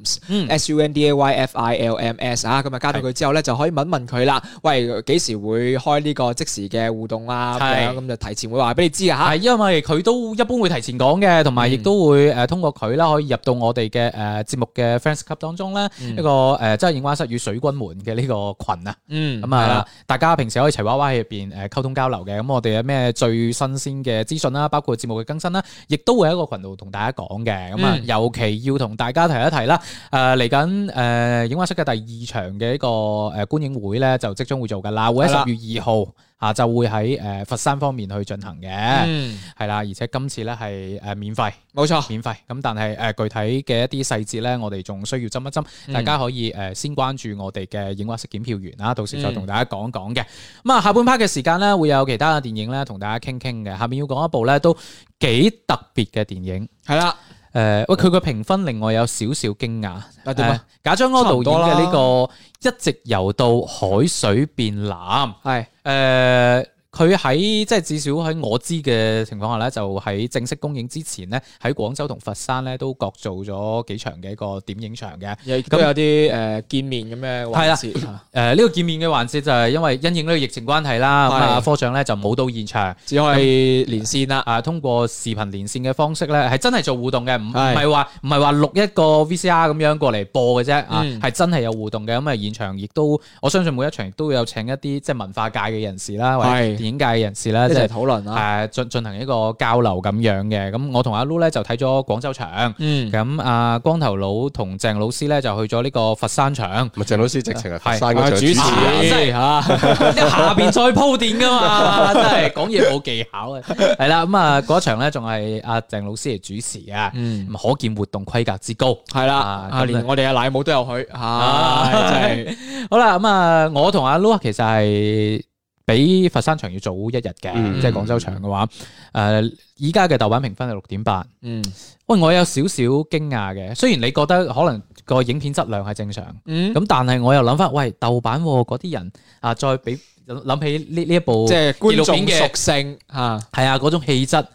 Films，SUNDAYFILMS 啊，咁啊加到佢之後咧，就可以問問佢啦。喂，幾時會開呢個即時嘅互動啊？咁就提前會話俾你知啊嚇。係因為佢都一般會提前講嘅，同埋亦都會通過佢啦，可以入到我哋嘅節目嘅 Fans Club 當中咧，一個即係影畫室與水軍們嘅呢個群啊。咁啊，大家平時可以齊娃娃喺入邊溝通交流嘅。咁我哋有咩最新鮮嘅資訊啦，包括節目嘅更新啦，亦都會喺個群度同大家講嘅。咁啊，尤其要同大家提一提啦。嚟緊影畫室嘅第二場嘅一個觀影會咧，就即將會做㗎啦，會喺10月2號下晝會喺佛山方面去進行嘅，係啦，而且今次咧係免費，冇錯，免費。咁但係具體嘅一啲細節咧，我哋仲需要斟一斟，大家可以先關注我哋嘅影畫室檢票員啦，到時再同大家講講嘅。咁啊，下半 part 嘅時間咧，會有其他嘅電影咧同大家傾傾嘅。下面要講一部咧都幾特別嘅電影，係啦。喂，佢個評分令我有少少驚訝。點啊？賈樟柯導演嘅呢個一直游到海水變藍，係佢喺即係至少喺我知嘅情況下咧，就喺正式公映之前咧，喺廣州同佛山咧都各做咗幾場嘅一個點映場嘅， 咁有啲見面咁嘅環節。 呢個見面嘅環節就係因為因應呢個疫情關係啦，咁啊科長咧就冇到現場，只可以連線啦。通過視頻連線嘅方式咧，係真係做互動嘅，唔係話錄一個 VCR 咁樣過嚟播嘅啫，係真係有互動嘅。咁啊現場亦都我相信每一場亦都有請一啲即係文化界嘅人士啦，或者電影界嘅人士咧，即係討論啦，進行一個交流咁樣嘅。咁我同阿 Lu 咧就睇咗廣州場，咁阿光頭佬同鄭老師咧就去咗呢個佛山場。 鄭老師直情係佛山嗰場主持， 即係下邊再鋪墊噶嘛，真係講嘢冇技巧啊。係啦，咁啊嗰場咧仲係阿鄭老師嚟主持啊，可見活動規格之高。係啦， 連我哋阿奶母都有去，真係好啦。咁啊，我同阿 Lu 其實係比佛山場要早一日嘅，即係廣州場嘅話，依家嘅豆瓣評分係6.8。喂，我有少少驚訝嘅，雖然你覺得可能個影片質量係正常，咁但係我又諗翻，喂，豆瓣嗰啲人啊，再俾諗起呢一部即係觀眾嘅屬性嚇， 係啊嗰種氣質。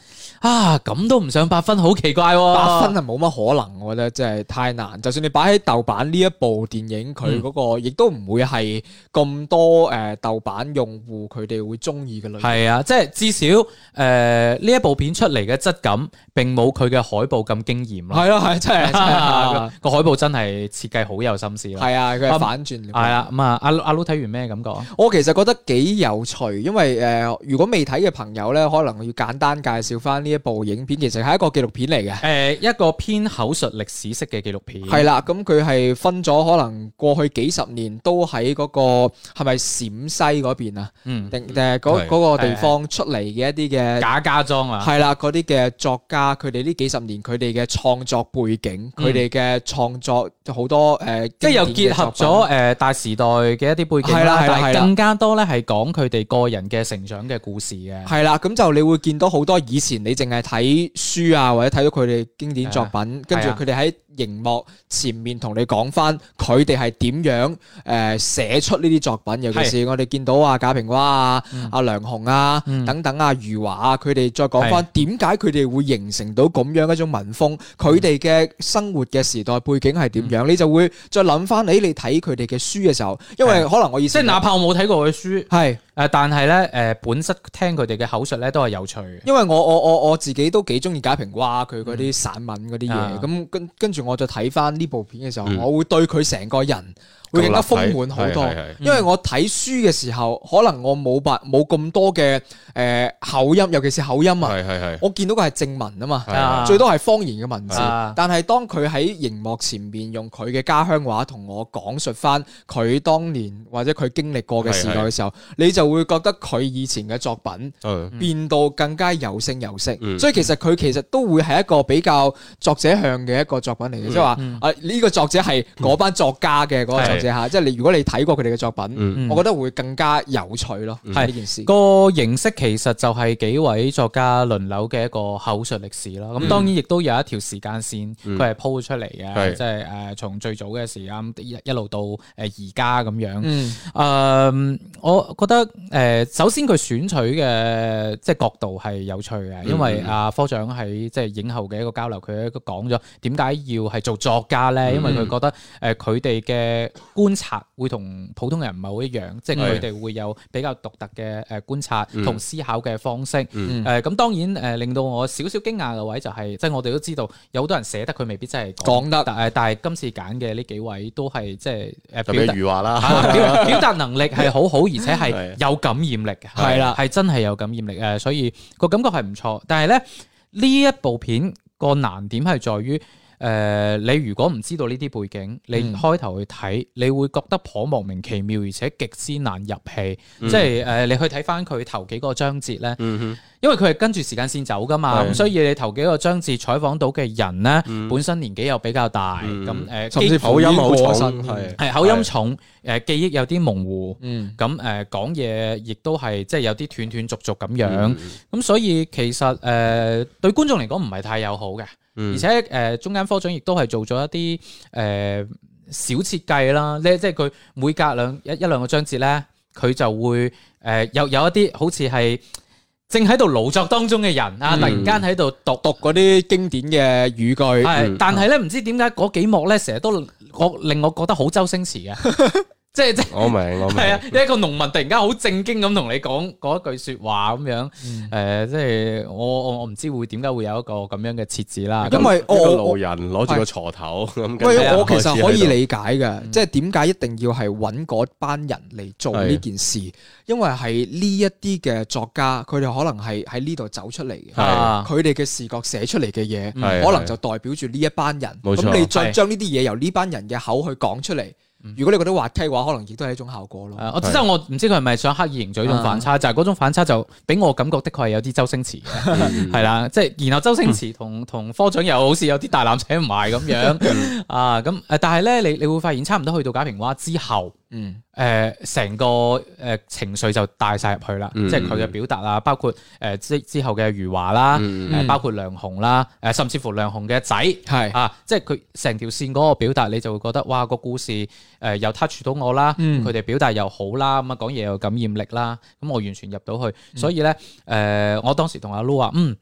啊，咁都唔上8分，好奇怪喎！ 8分係冇乜可能，我覺得真係太難。就算你擺喺豆瓣呢一部電影，佢嗰個亦都唔會係咁多豆瓣用戶佢哋會中意嘅類型。 係啊，即係至少呢一部片出嚟嘅質感並冇佢嘅海報咁驚豔咯。 係咯，係真係個海報真係設計好有心思啦。 係啊，佢係反轉。 係啊，咁啊，阿 Lu 睇完咩感覺啊？ 我其實覺得幾有趣，因為如果未睇嘅朋友咧，可能要簡單介紹翻呢一部影片，其實係一個紀錄片嚟嘅。 一個偏口述歷史式嘅紀錄片。 係啦，咁佢係分咗可能過去幾十年都喺嗰個係咪陝西嗰邊啊？定係嗰個地方出嚟嘅一啲嘅賈家莊啊。 係啦，嗰啲嘅作家，佢哋呢幾十年佢哋嘅創作背景，佢哋嘅創作好多即係又結合咗大時代嘅一啲背景啦，但係更加多咧係講佢哋個人嘅成長嘅故事嘅。 係啦，咁就你會見到好多以前你淨係睇書啊，或者睇到佢哋經典作品，跟住佢哋喺熒幕前面同你講翻佢哋係點樣寫出呢啲作品，尤其是我哋見到啊賈平凹啊、阿梁鴻啊等等啊余華啊，佢哋再講翻點解佢哋會形成到咁樣一種文風，佢哋嘅生活嘅時代背景係點樣，你就會再諗翻你睇佢哋嘅書嘅時候，因為可能我意思即係哪怕我冇睇過佢書， 係但係咧本質聽佢哋嘅口述咧都係有趣嘅。 因為我自己都幾中意賈平凹佢嗰啲散文嗰啲嘢，咁跟住我再睇翻呢部片嘅時候，我會對佢成個人會更加豐滿好多。因為我睇書嘅時候，可能我冇咁多嘅口音，尤其是口音啊。我見到嘅係正文啊嘛，最多係方言嘅文字。但係當佢喺熒幕前面用佢嘅家鄉話同我講述翻佢當年或者佢經歷過嘅時代嘅時候，你就會覺得佢以前嘅作品變到更加有聲有色。所以其實都會係一個比較作者向嘅一個作品嚟嘅，即係話呢個作者係嗰班作家嘅嗰個作者嚇，即係如果你睇過佢哋嘅作品，我覺得會更加有趣咯。係呢件事個形式其實就係幾位作家輪流嘅一個口述歷史啦。咁當然亦都有一條時間線，佢係鋪出嚟嘅，即係從最早嘅時間一路到而家咁樣。我覺得首先佢選取嘅即係角度係有趣嘅，因為科長喺即係影後嘅一個交流，佢都講咗點解要係做作家咧？因為佢覺得佢哋嘅觀察會同普通人唔係好一樣，即係佢哋會有比較獨特嘅觀察同思考嘅方式。咁當然令到我少少驚訝嘅位就係，即係我哋都知道有好多人寫得佢未必真係講得，但係今次揀嘅呢幾位都係即係特別余華啦， 表達能力係好好，而且係有感染力嘅，係啦，係真係有感染力。所以個感覺係唔錯。但係咧呢一部片個難點係在於，你如果唔知道呢啲背景，你開頭去睇，你會覺得頗莫名其妙，而且極之難入戲。即係你去睇翻佢頭幾個章節咧，因為佢係跟住時間線走噶嘛，咁所以你頭幾個章節採訪到嘅人咧，本身年紀又比較大，咁甚至口音好重， 係口音重，記憶有啲模糊，咁講嘢亦都係即係有啲斷斷續續咁樣，咁所以其實對觀眾嚟講唔係太友好嘅。而且中間科長亦都係做咗一啲小設計啦，即係佢每隔一兩個章節咧，佢就會有一啲好似係正喺度勞作當中嘅人啊，突然間喺度讀嗰啲經典嘅語句， 但係咧唔知點解嗰幾幕咧成日都令我覺得好周星馳嘅。即係我明係啊！一個農民突然間好正經咁同你講嗰一句說話咁樣，即係我唔知會點解會有一個咁樣嘅設置啦。 因為一個路人攞住個鋤頭咁。 喂，我其實可以理解嘅，即係點解一定要係揾嗰班人嚟做呢件事？因為係呢一啲嘅作家，佢哋可能係喺呢度走出嚟嘅，佢哋嘅視覺寫出嚟嘅嘢，可能就代表住呢一班人。咁你再將呢啲嘢由呢班人嘅口去講出嚟。如果你覺得滑稽嘅話，可能亦都係一種效果咯。 我唔知佢係咪想刻意營造一種反差，就係嗰種反差就俾我感覺的確係有啲周星馳嘅，係啦，即係然後周星馳同科長又好似有啲大纜扯唔埋咁樣咁但係咧你會發現差唔多去到賈平凹之後。成個情緒就帶晒入去啦，即係佢嘅表達啊，包括之後嘅余華啦，包括梁鴻啦，甚至乎梁鴻嘅仔係即係佢成條線嗰個表達，你就會覺得哇個故事又 touch 到我啦，佢哋表達又好啦，咁啊講嘢又感染力啦，咁我完全入到去，所以咧我當時同阿 Lu 話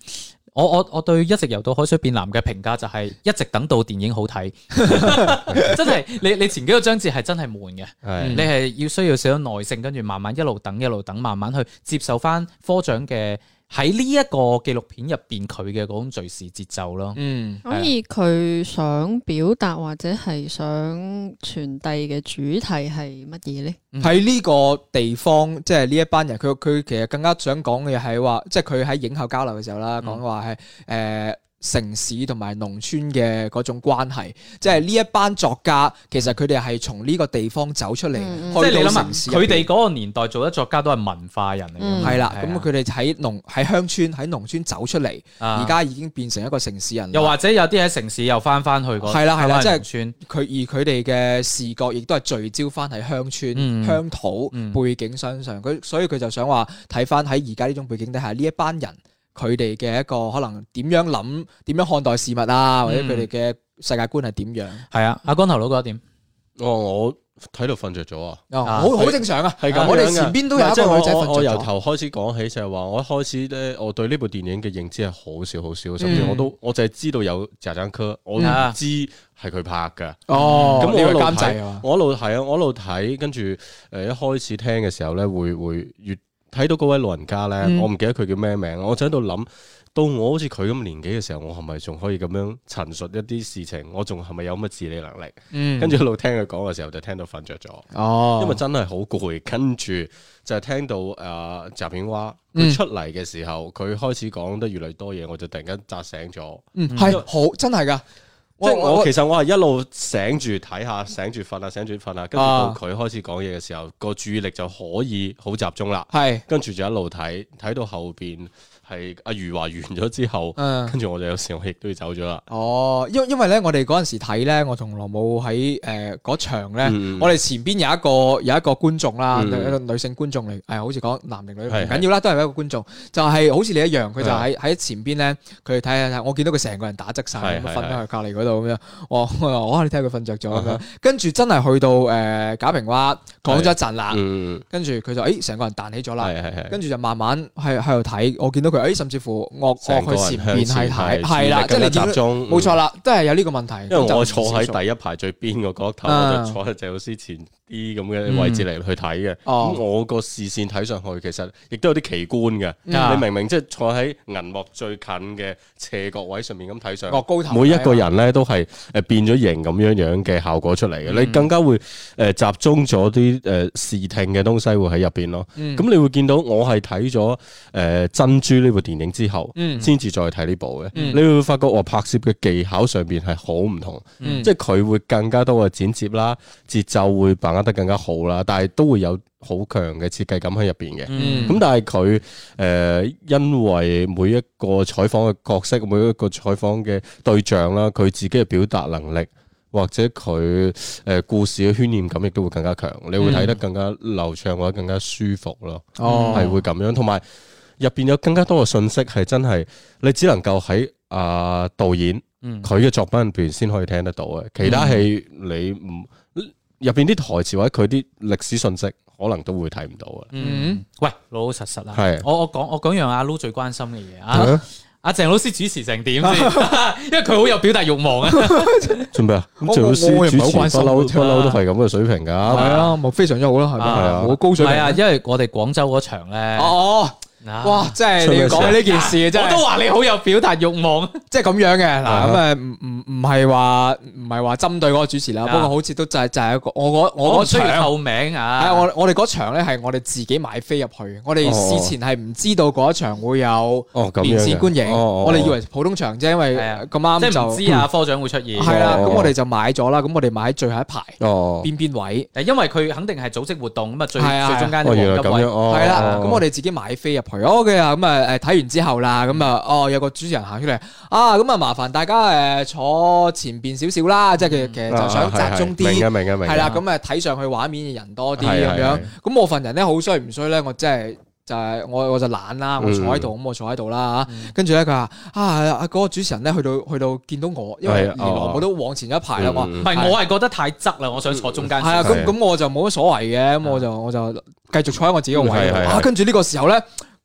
我對一直游到海水變藍嘅評價就係一直等到電影好睇，真係你前幾個章節係真係悶嘅，你係要需要少少耐性，跟住慢慢一路等，慢慢去接受翻科長嘅喺呢一個紀錄片入邊佢嘅嗰種敘事節奏咯。 所以佢想表達或者係想傳遞嘅主題係乜嘢呢？ 喺呢個地方，即係呢一班人，佢其實更加想講嘅係話，即係佢喺影後交流嘅時候啦，講話係城市同埋農村嘅嗰種關係，即係呢一班作家，其實佢哋係從呢個地方走出嚟， 即係你諗下，佢哋嗰個年代做得作家都係文化人嚟嘅， 係啦。咁佢哋喺鄉村喺農村走出嚟，而家已經變成一個城市人， 又或者有啲喺城市又翻去嗰， 係啦，即係佢哋嘅視覺亦都係聚焦翻喺鄉村鄉土背景身上，所以佢就想話睇翻喺而家呢種背景底下呢一班人。佢哋嘅一個可能點樣諗，點樣看待事物啊，或者佢哋嘅世界觀係點樣？ 係啊，阿光頭佬覺得點？ 我睇到瞓着咗啊！ 好正常啊， 係咁。 我哋前邊都有一個女仔瞓着咗。 我由頭開始講起就係話，我一開始咧，我對呢部電影嘅認知係好少，甚至我就係知道有賈樟柯，我唔知係佢拍㗎。 哦， 咁我一路監製啊， 我一路睇，跟住一開始聽嘅時候咧，會越睇到嗰位老人家咧，我唔記得佢叫咩名，我就喺度諗，到我好似佢咁年紀嘅時候，我係咪仲可以咁樣陳述一啲事情？我仲係咪有乜自理能力？跟住一路聽佢講嘅時候，就聽到瞓着咗。哦，因為真係好攰。跟住就係聽到賈平凹佢出嚟嘅時候，佢開始講得越嚟越多嘢，我就突然間扎醒咗。 係好真係㗎。 即係我其實我係一路醒住睇下，醒住瞓下，跟住到佢開始講嘢嘅時候，個注意力就可以好集中啦。係，跟住就一路睇到後邊係阿余華完咗之後，跟住我就有時我亦都要走咗啦。哦， 因為咧，我哋嗰陣時睇咧，我同羅姆喺嗰場咧，我哋前邊有一個觀眾啦，一個女性觀眾嚟，好似講男定女唔緊要啦，都係一個觀眾，就係好似你一樣，佢就喺前邊咧，佢睇，我見到佢成個人打側晒，瞓喺佢隔離嗰度咁樣，我你睇佢瞓着咗咁樣，跟住真係去到賈平凹講咗一陣啦，跟住佢就成個人彈起咗啦，跟住就慢慢喺度睇，我見到佢甚至乎我去前面係睇，係啦，即係你集中，冇錯啦，都係有呢個問題。 因為我坐喺第一排最邊個角頭，我就坐喺謝老師前啲咁嘅位置嚟去睇嘅。咁我個視線睇上去，其實亦都有啲奇觀嘅。你明明即係坐喺銀幕最近嘅斜角位上面咁睇上， 高頭， 每一個人咧都係變咗形咁樣嘅效果出嚟嘅。你更加會集中咗啲視聽嘅東西會喺入邊咯。咁你會見到我係睇咗珍珠呢部電影之後，先至再睇呢部嘅。你會發覺我拍攝嘅技巧上邊係好唔同，即係佢會更加多嘅剪接啦，節奏會把握得更加好啦，但係都會有好強嘅設計感喺入邊嘅。咁但係佢因為每一個採訪嘅角色，每一個採訪嘅對象啦，佢自己嘅表達能力或者佢故事嘅渲染感亦都會更加強，你會睇得更加流暢或者更加舒服咯。係會咁樣，同埋入邊有更加多嘅信息係真係你只能夠喺導演佢嘅作品入邊先可以聽得到嘅，其他戲你唔入邊啲台詞或者佢啲歷史信息可能都會睇唔到嘅。 喂，老老實實啦，我講樣阿 Lu 最關心嘅嘢阿鄭老師主持成點先？因為佢好有表達慾望啊！ 做咩啊？咁鄭老師主持不嬲都係咁嘅水平噶，係啊，咪非常之好啦，係咪？係啊，好高水平。係啊，因為我哋廣州嗰場咧。 哇！即係你要講起呢件事，真係我都話你好有表達慾望， 即係咁樣嘅嗱。咁唔係話針對嗰個主持啦，不過好似都就係一個我嗰場透明啊！ 係我哋嗰場咧係我哋自己買飛入去，我哋事前係唔知道嗰一場會有電視觀影，我哋以為普通場啫，因為咁啱就唔知啊科長會出現。 係啦，咁我哋就買咗啦，咁我哋買喺最後一排邊位， 因為佢肯定係組織活動咁啊，最中間嘅黃金位係啦，咁我哋自己買飛入去。OK 啊，咁睇完之後啦，咁有個主持人行出嚟咁麻煩大家坐前邊少少啦，即係其實就想集中啲， 明係啦，咁睇上去畫面嘅人多啲咁樣。咁我份人咧好衰唔衰咧？我真係就係我就懶啦，我坐喺度，咁我坐喺度啦嚇。跟住咧佢話嗰個主持人咧去到見到我，因為連羅姆都往前一排啦，我係覺得太側啦，我想坐中間。 係啊，咁我就冇乜所謂嘅，咁我就繼續坐喺我自己個位。跟住呢個時候咧，嗰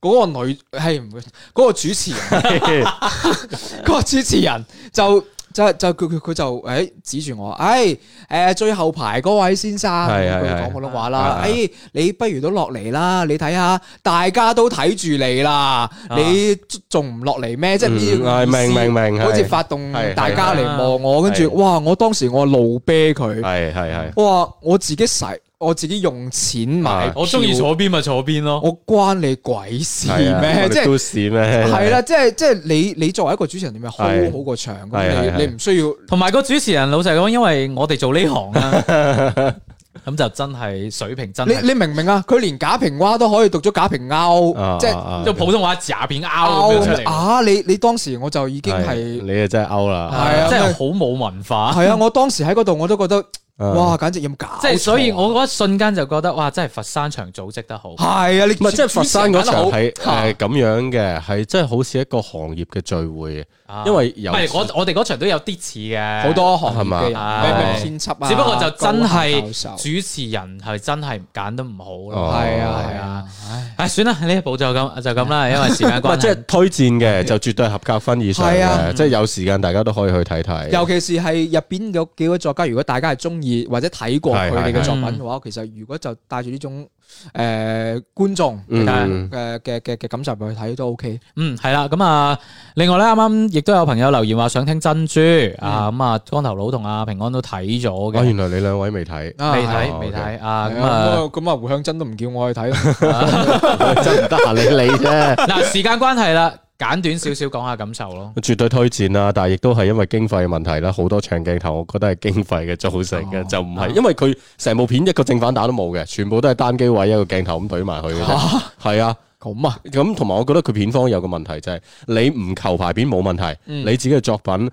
嗰個女係唔會嗰個主持人，嗰個主持人就佢就指住我，最後排嗰位先生，佢講普通話啦，你不如都落嚟啦，你睇下大家都睇住你啦，你仲唔落嚟咩？即係明，好似發動大家嚟望我，跟住哇！我當時我怒啤佢，哇！我自己用錢買， 我中意坐邊咪坐邊咯， 我關你鬼事咩？即係都市咩？ 係啦，即係你作為一個主持人，你咪 hold 好個場，你唔需要。 同埋個主持人老實講，因為我哋做呢行啦，咁就真係水平真係。 你明唔明啊？佢連假平蛙都可以讀咗假平鈎，即係普通話假平鈎咁樣出嚟。 啊！你當時我就已經係你啊，真係勾啦， 係啊， 真係好冇文化。 係啊，我當時喺嗰度我都覺得。哇！簡直有冇搞錯？ 即係所以，我嗰一瞬間就覺得，哇！真係佛山場組織得好。 係啊，你唔係即係佛山嗰場係咁樣嘅，係真係好似一個行業嘅聚會。因為唔係我哋嗰場都有啲似嘅， 好多行業嘅人，咩編輯啊， 只不過就真係主持人係真係揀得唔好咯。 係啊， 唉，算啦，呢一步就咁啦，因為時間關係。 即係推薦嘅就絕對合格分以上嘅，即係有時間大家都可以去睇睇。 尤其是係入邊有幾位作家，如果大家係中意或者睇過佢哋嘅作品嘅話，其實如果就帶住呢種觀眾嘅感受去睇都 OK。 係啦，咁啊，另外咧，啱啱亦都有朋友留言話想聽珍珠啊，咁啊，光頭佬同阿平安都睇咗嘅。 原來你兩位未睇， 未睇啊， 咁啊，胡向真都唔叫我去睇， 真唔得閒你啫。 嗱，時間關係啦。簡短少少講下感受咯， 絕對推薦啦，但係亦都係因為經費嘅問題啦，好多長鏡頭，我覺得係經費嘅造成嘅，就唔係因為佢成部片一個正反打都冇嘅，全部都係單機位一個鏡頭咁懟埋去嘅啫。係啊，咁同埋我覺得佢片方有個問題就係你唔求排片冇問題，你自己嘅作品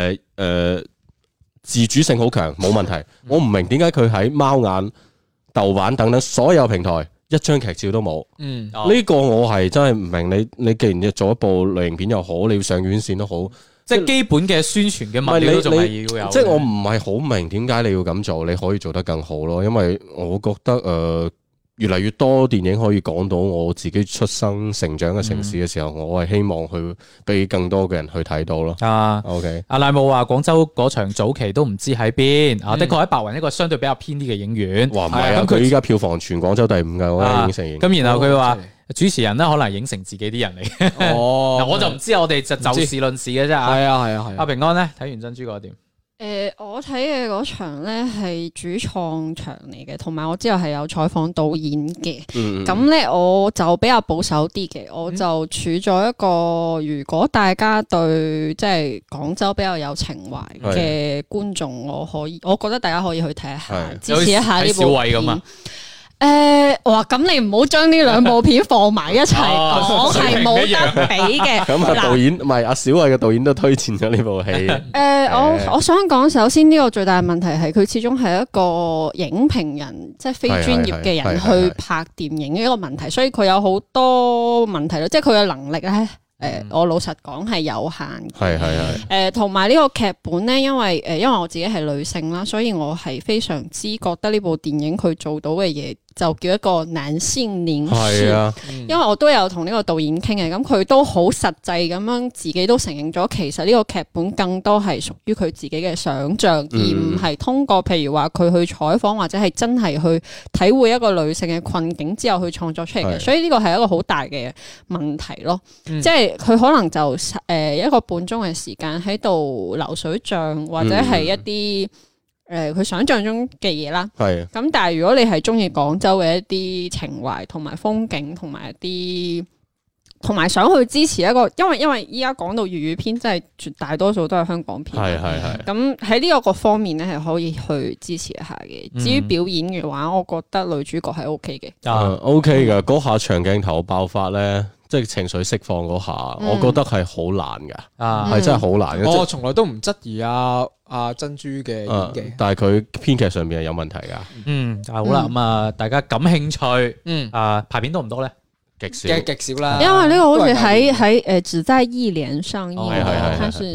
自主性好強冇問題。我唔明點解佢喺貓眼、豆瓣等等所有平台一張劇照都冇，呢個我係真係唔明。你既然要做一部類型片又好，你要上院線都好， 即係基本嘅宣傳嘅物料都仲係要有。 即係我唔係好明點解你要咁做，你可以做得更好咯。因為我覺得越嚟越多電影可以講到我自己出生成長嘅城市嘅時候，我係希望去俾更多嘅人去睇到咯。OK， 阿賴姆話廣州嗰場早期都唔知喺邊，的確喺白雲一個相對比較偏啲嘅影院。 哇，唔係啊，佢依家票房全廣州第5㗎，我覺得已經承認。 咁然後佢話主持人咧可能影成自己啲人嚟嘅。我就唔知，我哋就事論事嘅啫。係啊。阿平安咧睇完珍珠嗰點？ 我睇嘅嗰場咧係主創場嚟嘅，同埋我之後係有採訪導演嘅。咁咧我就比較保守啲嘅，我就處咗一個如果大家對即係廣州比較有情懷嘅觀眾，我覺得大家可以去睇一下，支持一下呢部片。哇！咁你唔好將呢兩部片放埋一齊講，係冇得比嘅。 咁啊，導演唔係阿小慧嘅導演都推薦咗呢部戲。 我想講，首先呢個最大嘅問題係佢始終係一個影評人，即係非專業嘅人去拍電影嘅一個問題，所以佢有好多問題咯。即係佢嘅能力咧，我老實講係有限嘅。同埋呢個劇本咧，因為我自己係女性啦，所以我係非常之覺得呢部電影佢做到嘅嘢，就叫一個男性凝視。因為我都有同呢個導演傾嘅，咁佢都好實際咁樣自己都承認咗，其實呢個劇本更多係屬於佢自己嘅想像，而唔係通過譬如話佢去採訪或者係真係去體會一個女性嘅困境之後去創作出嚟嘅。所以呢個係一個好大嘅問題咯。即係佢可能就一個半鐘嘅時間喺度流水帳，或者係一啲佢想象中嘅嘢啦。咁但係如果你係中意廣州嘅一啲情懷同埋風景，同埋一啲同埋想去支持一個，因為依家講到粵語片，真係絕大多數都係香港片。咁喺呢個方面咧，係可以去支持一下嘅。至於表演嘅話，我覺得女主角係 OK 嘅。 OK 㗎，嗰下長鏡頭爆發咧，即係情緒釋放嗰下，我覺得係好難㗎，係真係好難嘅。 我從來都唔質疑阿珍珠嘅演技， 但係佢編劇上面係有問題㗎。 好啦，咁啊，大家感興趣，排片多唔多咧？極少啦， 因為呢個好似喺只在一連上映，它是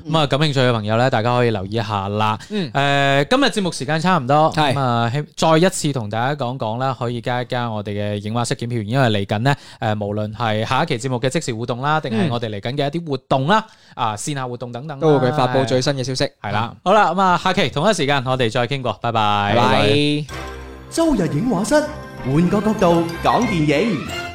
咁啊，感興趣嘅朋友咧，大家可以留意一下啦。今日節目時間差唔多，咁啊，再一次同大家講講啦，可以加一加我哋嘅映畫室檢票員，因為嚟緊呢，無論係下一期節目嘅即時互動啦，定係我哋嚟緊嘅一啲活動啦，線下活動等等， 都會佢發布最新嘅消息。 係啦，好啦，咁啊，下期同一時間我哋再傾過，拜拜。 拜拜。 周日映畫室，換個角度講電影。